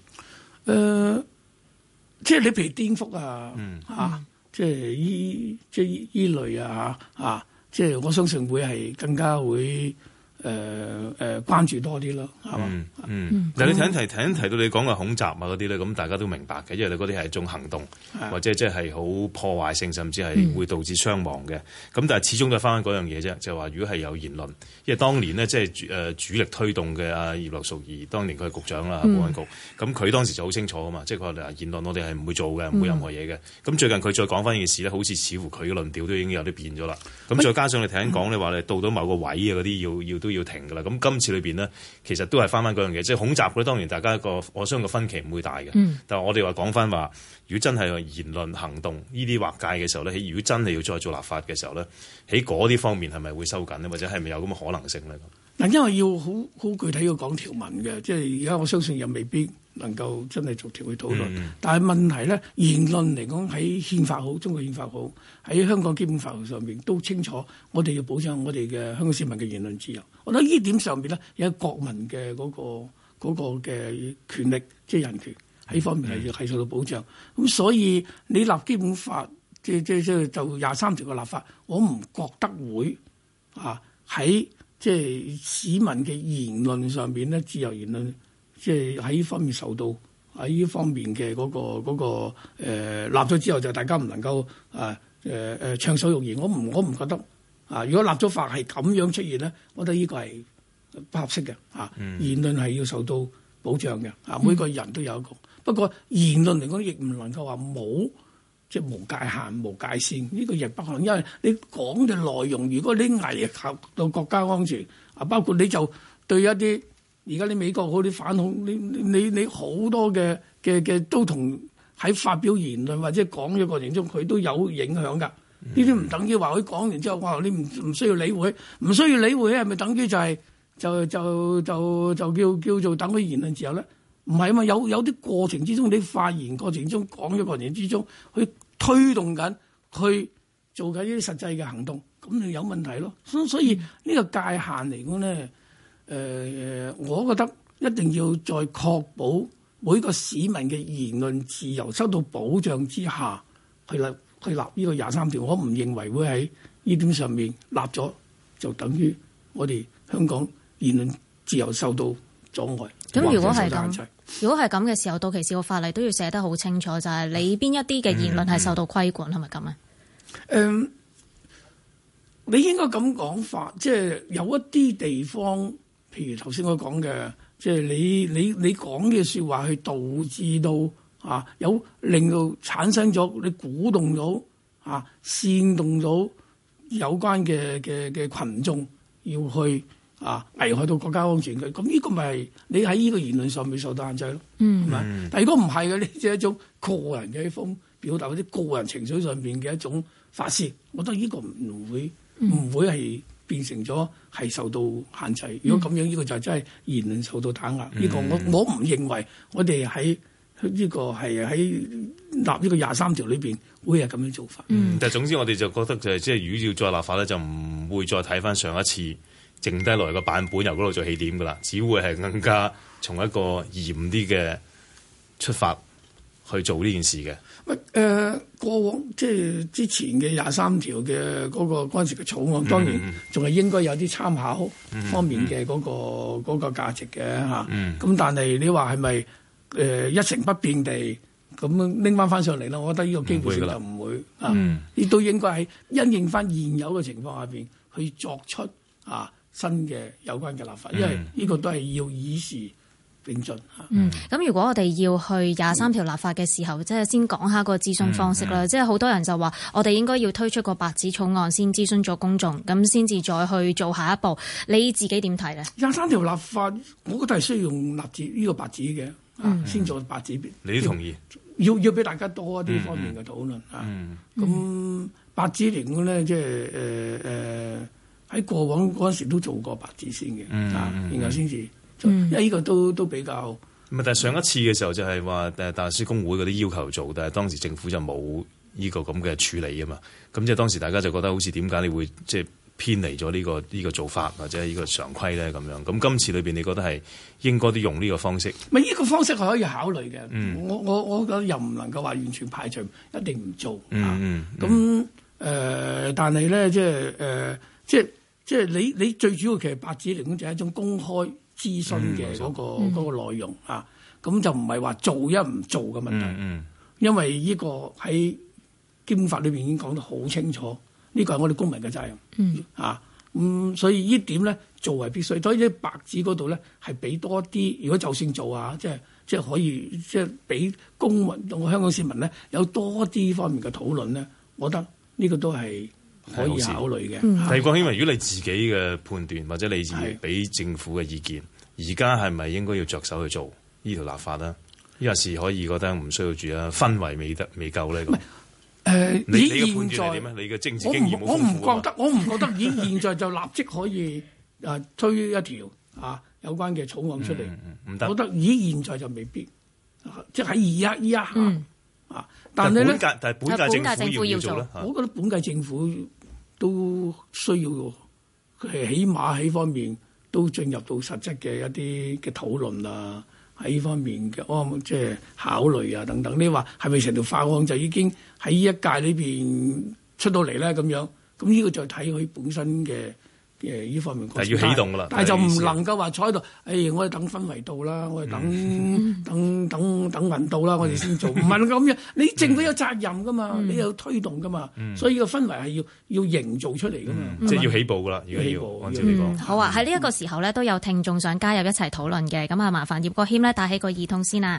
S17: 即係你譬如顛覆即係依類即係我相信會係更加會。關注多啲咯，係嘛？
S16: 但係你提到你講嘅恐襲嗰啲咧，咁大家都明白嘅，因為你嗰啲係一種行動，或者即係好破壞性，甚至係會導致傷亡嘅。咁但係始終都係翻嗰樣嘢啫，就係話如果係有言論，因為當年呢，即係主力推動嘅阿葉劉淑儀，當年佢係局長啦，保安局，咁佢當時就好清楚啊嘛，即係佢話言論我哋係唔會做嘅，唔會任何嘢嘅。咁最近佢再講翻呢件事咧，好似乎佢嘅論調都已經有啲變咗啦。咁再加上你頭先講你話你到某個位啊嗰啲都要停㗎啦，咁今次裏邊呢，其實都係翻嗰樣嘢，即係恐襲咧。當然大家我相信個分歧唔會大嘅，但係我哋話講翻話，如果真係言論行動呢啲劃界嘅時候咧，如果真係要再做立法嘅時候咧，喺嗰啲方面係咪會收緊呢？或者係咪有咁嘅可能性咧？
S17: 嗱，因為要好具體要講條文嘅，即係而家我相信又未必能夠真係逐條去討論。但係問題咧，言論嚟講喺憲法好，中國憲法好，喺香港基本法上面都清楚，我哋要保障我哋嘅香港市民嘅言論自由。我覺得呢點上面咧，有國民嘅嗰個嘅權力，即係人權喺方面係受到保障。咁所以你立基本法，就23條嘅立法，我唔覺得會喺即係市民嘅言論上邊咧，自由言論，即係喺呢方面受到喺呢方面嘅嗰個立咗之後，就大家唔能夠暢所欲言。我唔覺得如果立咗法係咁樣出現咧，我覺得呢個係不合適嘅言論係要受到保障嘅每個人都有一個。不過言論嚟講，亦唔能夠話冇即係無界限、無界線，呢個亦不可能。因為你講嘅內容，如果你危及到國家安全包括你就對一啲而家啲美國嗰啲反恐，你好多嘅都同喺發表言論或者講嘅過程中，佢都有影響㗎。呢啲唔等於話佢講完之後，哇！你唔需要理會，唔需要理會係咪等於就係就叫做等佢言論自由咧？唔係啊嘛，有啲過程之中，你發言過程中講嘅過程之中，去推動緊，去做緊呢啲實際嘅行動，咁就有問題咯。所以呢個界限嚟講咧，我覺得一定要在確保每個市民嘅言論自由受到保障之下，去立呢個23條。我唔認為會喺呢點上面立咗就等於我哋香港言論自由受到阻礙。
S1: 咁如果係咁嘅時候，到期時個法例都要寫得好清楚，就係你邊一啲嘅言論係受到規管，係咪咁啊？
S17: 你應該咁講法，即係有一啲地方，譬如頭先我講嘅，即係你講嘅説話，去導致到有令到產生咗，你鼓動到煽動到有關嘅群眾要去危害到國家安全嘅，咁呢個咪係你喺呢個言論上面受到限制咯，係咪？但如果唔係嘅，你即係一種個人嘅一種表達或者個人情緒上面嘅一種發泄，我覺得呢個唔會係變成咗係受到限制。如果咁樣，呢個就真係言論受到打壓。呢個我唔認為我哋喺呢個係喺立呢個23條裏邊會係咁樣做法。
S16: 但係總之我哋就覺得就係即係如果要再立法咧，就唔會再睇翻上一次剩低落嚟個版本由嗰度做起點㗎啦，只會係更加從一個嚴啲嘅出發去做呢件事嘅。
S17: 過往即係之前嘅23條嘅嗰陣時嘅草案，當然仲係應該有啲參考方面嘅嗰個價值嘅嚇。咁但係你話係咪一成不變地咁拎翻上嚟啦？我覺得呢個基本上就唔會亦都應該係因應翻現有嘅情況下邊去作出新嘅有關嘅立法，因為呢個都係要以時並進。
S1: 咁如果我哋要去23條立法嘅時候，即係先講下個諮詢方式啦。即係好多人就話，我哋應該要推出個白紙草案先諮詢咗公眾，咁先至再去做下一步。你自己點睇咧？23條立法，我覺得係需要用呢個白紙嘅，先做白紙。
S16: 你都同意？
S17: 要俾大家多一啲方面嘅討論。咁白紙嚟講咧，即係喺過往嗰陣時都做過白紙先嘅，然後先至，因為呢個都比較。
S16: 但係上一次嘅時候就係話大律師公會嗰啲要求做，但係當時政府就冇呢個咁嘅處理啊嘛。咁即係當時大家就覺得好似點解你會即係偏離咗呢個做法或者呢個常規咧咁樣。咁今次裏邊你覺得係應該都用呢個方式？
S17: 咪呢個方式係可以考慮嘅。我覺得又唔能夠話完全排除一定唔做。咁但係咧即係你最主要其實白紙嚟講就係一種公開諮詢嘅嗰個內容咁就唔係話做一唔做嘅問題。因為呢個喺基本法裏邊已經講得好清楚，呢個係我哋公民嘅責任。所以呢點咧做係必須。所以喺白紙嗰度咧係俾多啲，如果就算做即係可以即係俾公民同香港市民咧有多啲方面嘅討論咧，我覺得呢個都係可以考慮嘅。
S16: 但係郭興，如果你自己嘅判斷或者你自己俾政府嘅意見，而家係咪應該要着手去做呢條立法咧？呢個是可以覺得唔需要住啊，氛圍未夠咧。你嘅判斷係點咧？你嘅政治經驗冇豐富啊？
S17: 我唔覺得以現在就立即可以推一條有關嘅草案出嚟。唔得，我覺得以現在就未必，即係喺依一下。但係咧，
S16: 但係本屆政府要做咧。
S17: 我覺得本屆政府都需要起碼喺方面都進入到實質嘅一啲嘅討論喺呢方面嘅即係考慮等等。你話係咪成條法案就已經喺呢一屆裏邊出到嚟咧？咁樣咁呢個就睇佢本身嘅呢方面，
S16: 但係要起動㗎啦，
S17: 但係就唔能夠話坐喺度，我哋等氛圍到啦，我哋等運到啦，我哋先做，唔係咁樣。你政府有責任噶嘛，你有推動噶嘛，所以呢個氛圍係要營造出嚟噶嘛，
S16: 即係要起步㗎啦，而家要按照你講。
S1: 好啊，喺呢一個時候咧，都有聽眾想加入一齊討論嘅，咁啊，麻煩葉國謙咧帶起個耳筒先啦。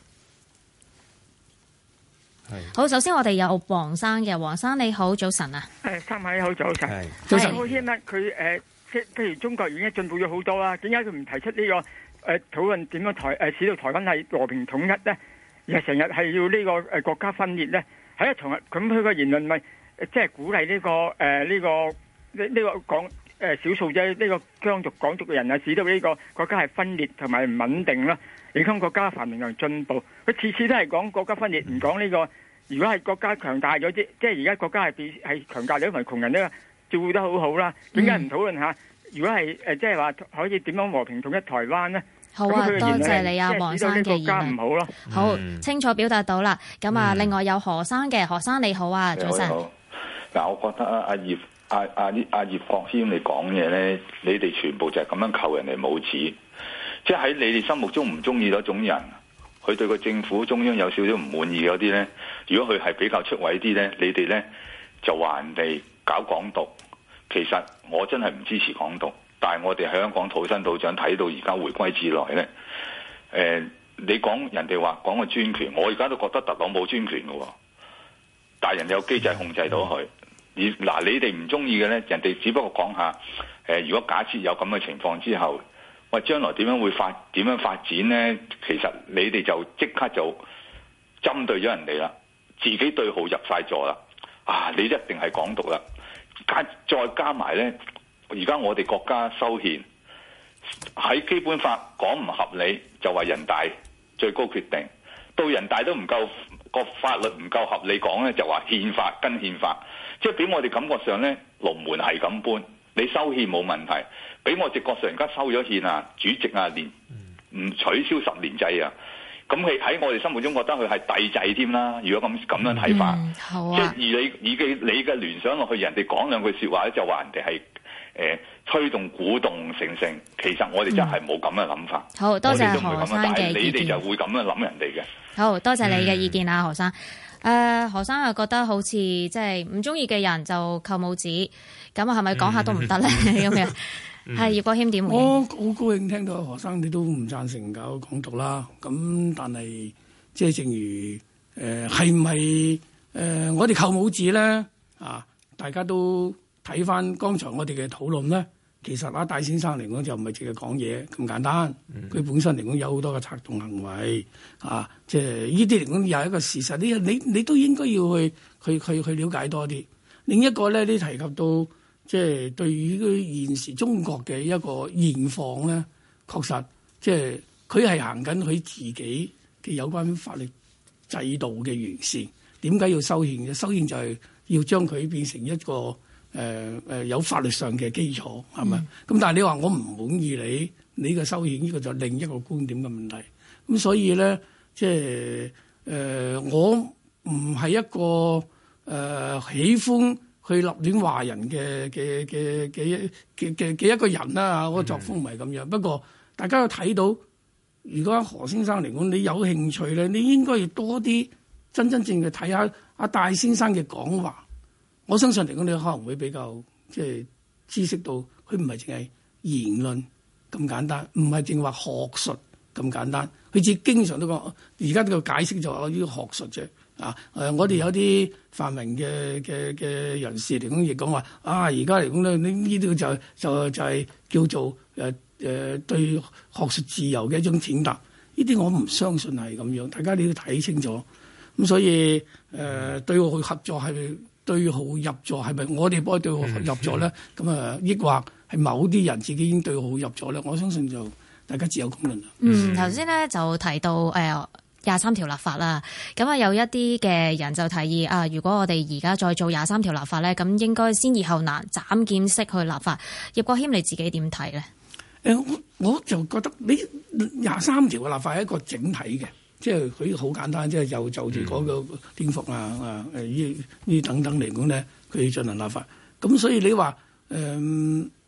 S1: 好，首先我哋有黃生嘅，黃生你好，早晨啊。
S6: 三位好，早晨。
S17: 早晨。
S6: 我希望佢即係譬如中國已經進步咗好多啦，點解佢唔提出呢個討論點樣使到台灣係和平統一咧？而係成日係要呢個國家分裂咧？喺同日咁佢個言論咪即係鼓勵呢個講少數啫，呢個疆族港族嘅人啊，使到呢個國家係分裂同埋唔穩定啦，影響國家繁榮同進步。佢次次都係講國家分裂，唔講呢個。如果係國家強大咗啲，即係而家國家係強大咗，同埋窮人呢照顧得好好啦。點解唔討論下？如果係即係話可以點樣和平統一台灣呢？
S1: 好啊，多謝你啊，黃生嘅言論。
S6: 唔好咯。
S1: 好，清楚表達到啦。咁啊，另外有何生嘅，何生你好啊，早晨。
S7: 嗱，我覺得阿葉國謙你講嘢咧，你哋全部就係咁樣扣人哋帽子，即係喺你哋心目中唔中意嗰種人。佢對個政府中央有少少唔滿意嗰啲呢，如果佢係比較出位啲呢，你哋呢就話人哋搞港獨。其實我真係唔支持港獨，但係我哋喺香港土生土長睇到而家回歸至來呢，你講人哋話講個專權，我而家都覺得特朗普專權嘅，但係人哋有機制控制到佢。你哋唔中意嘅呢，人哋只不過講下，如果假設有咁嘅情況之後。喂，將來點樣發展呢？其實你哋就即刻就針對咗人哋啦，自己對號入晒座啦。你一定係港獨啦。再加埋呢，而家我哋國家修憲喺基本法講唔合理，就話人大最高決定。到人大都唔夠個法律唔夠合理講呢，就話憲法跟憲法。即係俾我哋感覺上呢，龍門係咁搬。你修憲冇問題，俾我直覺上而家收咗憲啊，主席啊，連唔取消10年制啊，咁佢喺我哋心目中覺得佢係帝制添啦。如果咁樣睇法，
S1: 好啊、
S7: 即係而你嘅聯想落去，人哋講兩句説話咧，就話人哋係推動鼓動成，其實我哋真係冇咁嘅諗法。
S1: 好多謝何生嘅意見，
S7: 你哋就會咁樣諗人哋嘅。
S1: 好多謝你嘅意見啊，何生。何生又覺得好似即係唔中意嘅人就扣帽子，咁啊係咪講下都唔得咧？咁樣係葉國謙點回應？
S17: 我好高興聽到何生你都唔贊成搞港獨啦。咁但係即係正如係唔係我哋扣帽子咧？大家都睇翻剛才我哋嘅討論咧。其實戴先生嚟講就唔係淨係講嘢咁簡單，佢本身嚟講有好多嘅策動行為即係呢啲嚟講又係一個事實。你都應該要去了解多啲。另一個咧，你提及到即係對於現時中國嘅一個現況咧，確實即係佢係行緊佢自己嘅有關法律制度嘅完善。點解要修憲嘅？修憲就係要將佢變成一個有法律上嘅基礎，係咪？咁但係你話我唔滿意你嘅修憲，呢個就另一個觀點嘅問題。咁所以咧，即係我唔係一個喜歡去立亂話人嘅一個人啦。我作風唔係咁樣。不過大家都睇到，如果何先生嚟講，你有興趣咧，你應該要多啲真正嘅睇下阿戴先生嘅講話。我相信嚟講，你可能會比較即係知識到，佢唔係淨係言論咁簡單，唔係淨話學術咁簡單。佢自己經常都講，而家呢個解釋就話呢個學術啫。我哋有啲泛民嘅人士嚟講，亦講話而家嚟講咧，呢啲就係叫做對學術自由嘅一種踐踏。呢啲我唔相信係咁樣，大家你要睇清楚。咁所以對號合作係咪？對號入座係咪我哋幫佢對號入座咧？咁抑或係某啲人自己已經對號入座咧？我相信就大家自有公論啦。
S1: 頭先咧就提到23條立法啦，咁有一啲嘅人就提議如果我哋而家再做23條立法咧，咁應該先易後難，斬劍式去立法。葉國謙你自己點睇咧？
S17: 我就覺得你23條嘅立法係一個整體嘅。即係佢好簡單，即係就住嗰個顛覆呢等等嚟講咧，佢進行立法。咁所以你話呢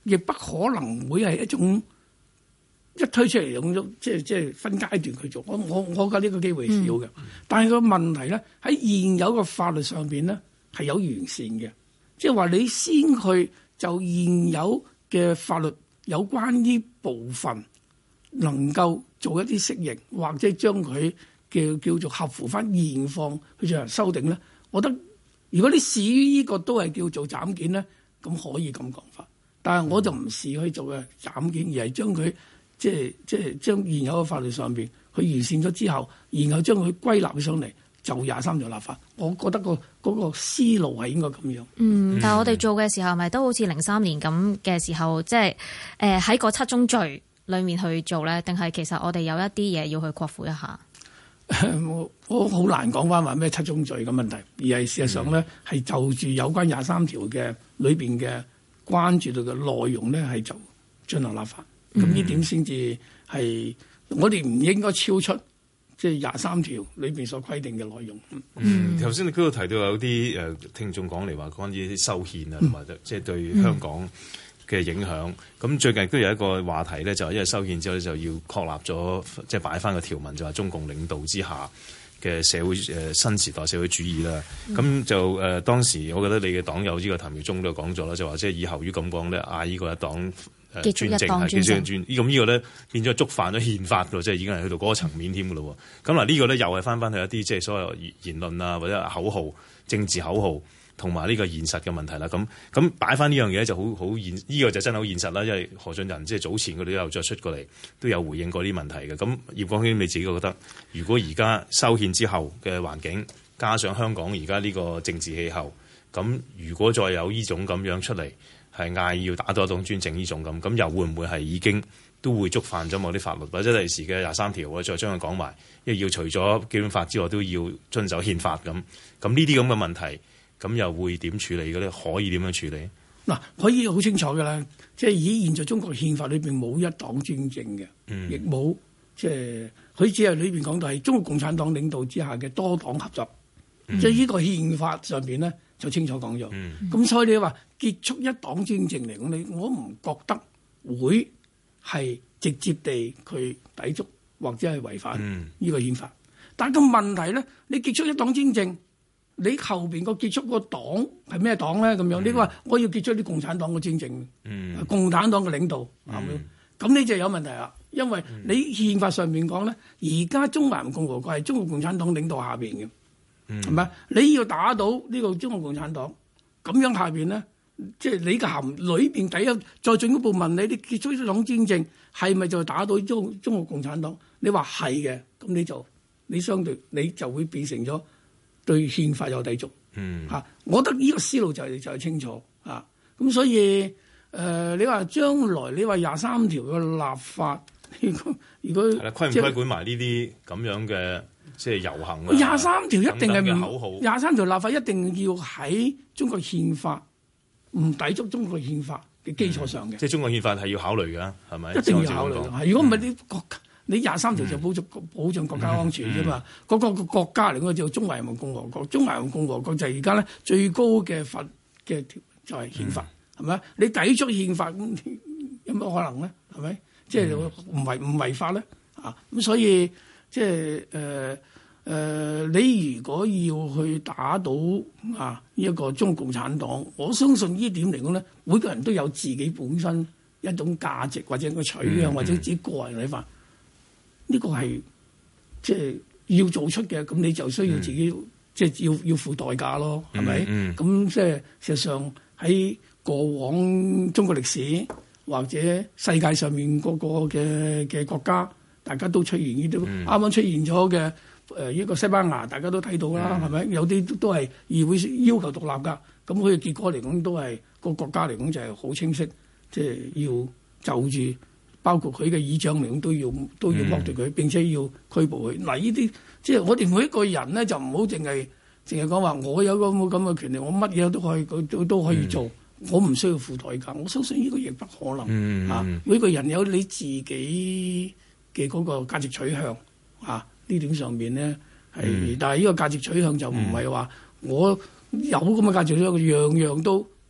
S17: 亦不可能會係一種一推出嚟用咗即係分階段去做。我覺得呢個機會少嘅。但係個問題咧，喺現有嘅法律上邊咧係有完善嘅，即係話你先去就現有嘅法律有關呢部分能夠做一啲適應，或者將佢叫做合乎翻現況去進行修訂咧。我覺得如果你視於呢個都係叫做斬件咧，咁可以咁講法。但係我就唔視去做嘅斬件，而係將佢即係將現有嘅法律上邊去完善咗之後，然後將佢歸納上嚟就23條立法。我覺得嗰個思路係應該咁樣。
S1: 但係我哋做嘅時候，咪都好似03年咁嘅時候，即係喺個7宗罪裏面去做咧，定係其實我哋有一啲嘢要去擴闊一下？
S17: 我好難講翻話咩7宗罪嘅問題，而係事實上咧係就住有關23條嘅裏邊嘅關注到嘅內容咧係就進行立法。咁呢點先至係我哋唔應該超出即係23條裏邊所規定嘅內容。
S16: 頭先你嗰度提到有啲聽眾講嚟話關於啲修憲啊，同埋即係對香港嘅影響。咁最近都有一個話題咧，就係因為修憲之後咧就要確立咗，即係擺翻個條文，就話中共領導之下嘅社會新時代社會主義啦。咁就當時我覺得你嘅黨友呢個譚耀宗都講咗啦，就話即係以後如果咁講咧，嗌呢個一黨專政係結束專，咁呢個咧變咗觸犯咗憲法㗎，即係已經係去到嗰個層面添㗎咯。咁嗱呢個咧又係翻去一啲即係所謂言論啊，或者口號、政治口號同埋呢個現實嘅問題啦。咁擺翻呢樣嘢就好現，呢個就真係好現實啦。因為何俊仁即係早前佢哋都有再出過嚟，都有回應過啲問題嘅。咁葉國謙你自己覺得，如果而家修憲之後嘅環境，加上香港而家呢個政治氣候，咁如果再有呢種咁樣出嚟，係嗌要打倒一黨專政呢種咁又會唔會係已經都會觸犯咗某啲法律，或者第時嘅23條我再將佢講埋，因為要除咗基本法之外都要遵守憲法咁。咁呢啲咁嘅問題，咁又會點處理嘅咧？可以點樣處理？
S17: 嗱，可以好清楚嘅啦，即係以現在中國憲法裏邊冇一黨專政嘅，亦冇即係佢只係裏邊講到係中國共產黨領導之下嘅多黨合作，即係呢個憲法上邊咧就清楚講咗。咁所以你話結束一黨專政嚟講，我唔覺得會係直接地去抵觸或者係違反呢個憲法。但係個問題咧，你結束一黨專政，你後邊個結束個黨係咩黨咧？咁樣你話我要結束啲共產黨嘅專政，共產黨嘅領導係咪？咁你就有問題啦，因為你憲法上面講咧，而家中華人民共和國係中國共產黨領導下邊嘅，係咪？你要打倒呢個中國共產黨，咁樣下邊咧，即係你嘅含裏邊第一再進一步問你，你結束一黨專政係咪就打倒中國共產黨？你話係嘅，咁你相對你就會變成咗對憲法有抵觸。我覺得呢個思路就係清楚啊。咁所以你話將來你話23條嘅立法，如果
S16: 係啦，規唔規管埋呢啲咁樣嘅即係遊行啊
S17: ？23條一定係唔
S16: 口號
S17: ，23條立法一定要喺中國憲法唔抵觸中國憲法嘅基礎上嘅。
S16: 即係中國憲法係要考慮㗎，係咪？
S17: 一定要考慮。如果唔係啲國家，你23條就保障國家安全啫嘛。嗰個國家嚟講就中華人民共和國，中華人民共和國就係而家咧最高嘅法嘅條就係憲法，係咪？你抵觸憲法咁有乜可能咧？係咪？即係唔違法咧？咁所以即係你如果要去打倒一個中國共產黨，我相信呢點嚟講咧，每個人都有自己本身一種價值或者一個取向或者自己個人睇法。呢個係即係要做出嘅，咁你就需要自己即係要付代價咯，係咪？咁即係事實上喺過往中國歷史或者世界上面嗰個嘅國家，大家都出現呢啲啱啱出現咗嘅一個西班牙，大家都睇到啦，係咪？有啲都係議會要求獨立㗎，咁佢嘅結果嚟講都係個國家嚟講就係好清晰，即係要就住。包括佢嘅議長名都要剝奪佢，並且要拘捕佢。嗱，呢啲即係我哋每一個人咧，就唔好淨係講話我有咁嘅權利，我乜嘢都可以做，我唔需要付代價。我相信呢個亦不可能。每個人有你自己嘅嗰個價值取向呢點上面咧係，但係呢個價值取向就唔係話我有咁嘅價值取向，樣樣都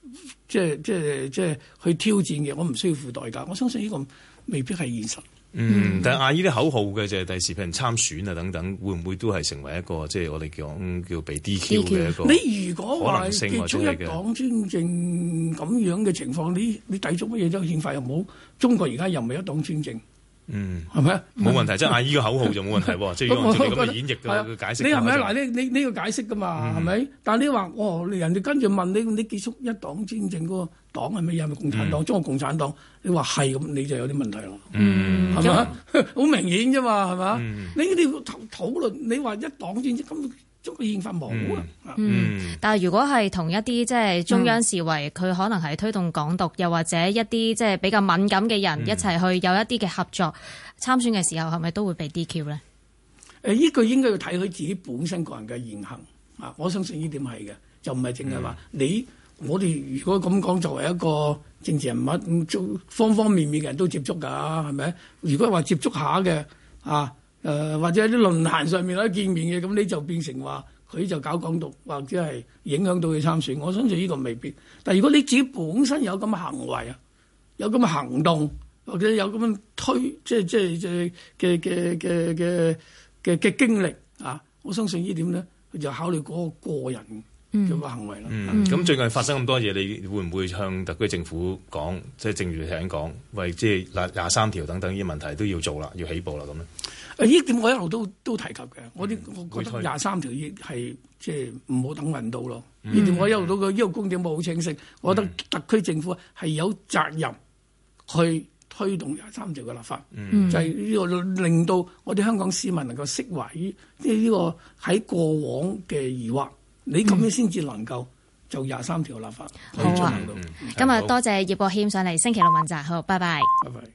S17: 即係去挑戰嘅，我唔需要付代價。我相信呢個未必係現實。
S16: 但係嗌呢啲口號嘅就係第時譬如參選啊等等，會唔會都係成為一個即係我哋叫被 DQ 嘅一個
S17: 你如果話結束一黨專政咁樣嘅情況，你抵觸乜嘢啫？憲法又冇，中國而家又唔係一黨專政。係咪啊？
S16: 冇問題，即係嗌呢個口號就冇問題喎。即係如果按照你咁嘅演繹嘅解釋，
S17: 你係咪啊？嗱，你要解釋噶嘛，係咪？但係你話人哋跟住問你結束一黨專政嗰個黨係乜嘢？係咪共產黨？中國共產黨？你話係咁，你就有啲問題咯。係咪啊？好明顯啫嘛，係咪啊？你要討論，你話一黨專政咁。中國憲法冇啊。
S1: 但係如果係同一啲即係中央視為佢可能係推動港獨，又或者一啲即係比較敏感嘅人一齊去有一啲嘅合作參選嘅時候，係咪都會被 DQ 咧？
S17: 呢個應該要睇佢自己本身個人嘅言行啊！我相信呢點係嘅，就唔係淨係話我哋如果咁講，作為一個政治人物，方方面面嘅人都接觸㗎，係咪？如果話接觸下嘅啊？或者喺啲論壇上面咧見面嘅，咁你就變成話佢就搞港獨，或者係影響到佢參選。我相信呢個未必。但係如果你自己本身有咁嘅行為啊，有咁嘅行動，或者有咁樣嘅經歷啊，我相信呢點咧，佢就考慮嗰個人嘅個行為啦。
S16: 咁最近發生咁多嘢，你會唔會向特區政府講？即係正如你頭先講，為即係23條等等呢啲問題都要做啦，要起步啦咁咧。
S17: 呢點我一路都提及嘅，我覺得23條亦係即係唔好等運到咯。呢點我一路都呢個觀點冇好清晰，我覺得特區政府係有責任去推動23條嘅立法，就係呢個令到我哋香港市民能夠釋懷於呢個喺過往嘅疑惑，你咁樣先至能夠就23條立法可以進行到。
S1: 今日多謝葉國謙上嚟星期六問責，好，拜拜。
S17: 拜拜。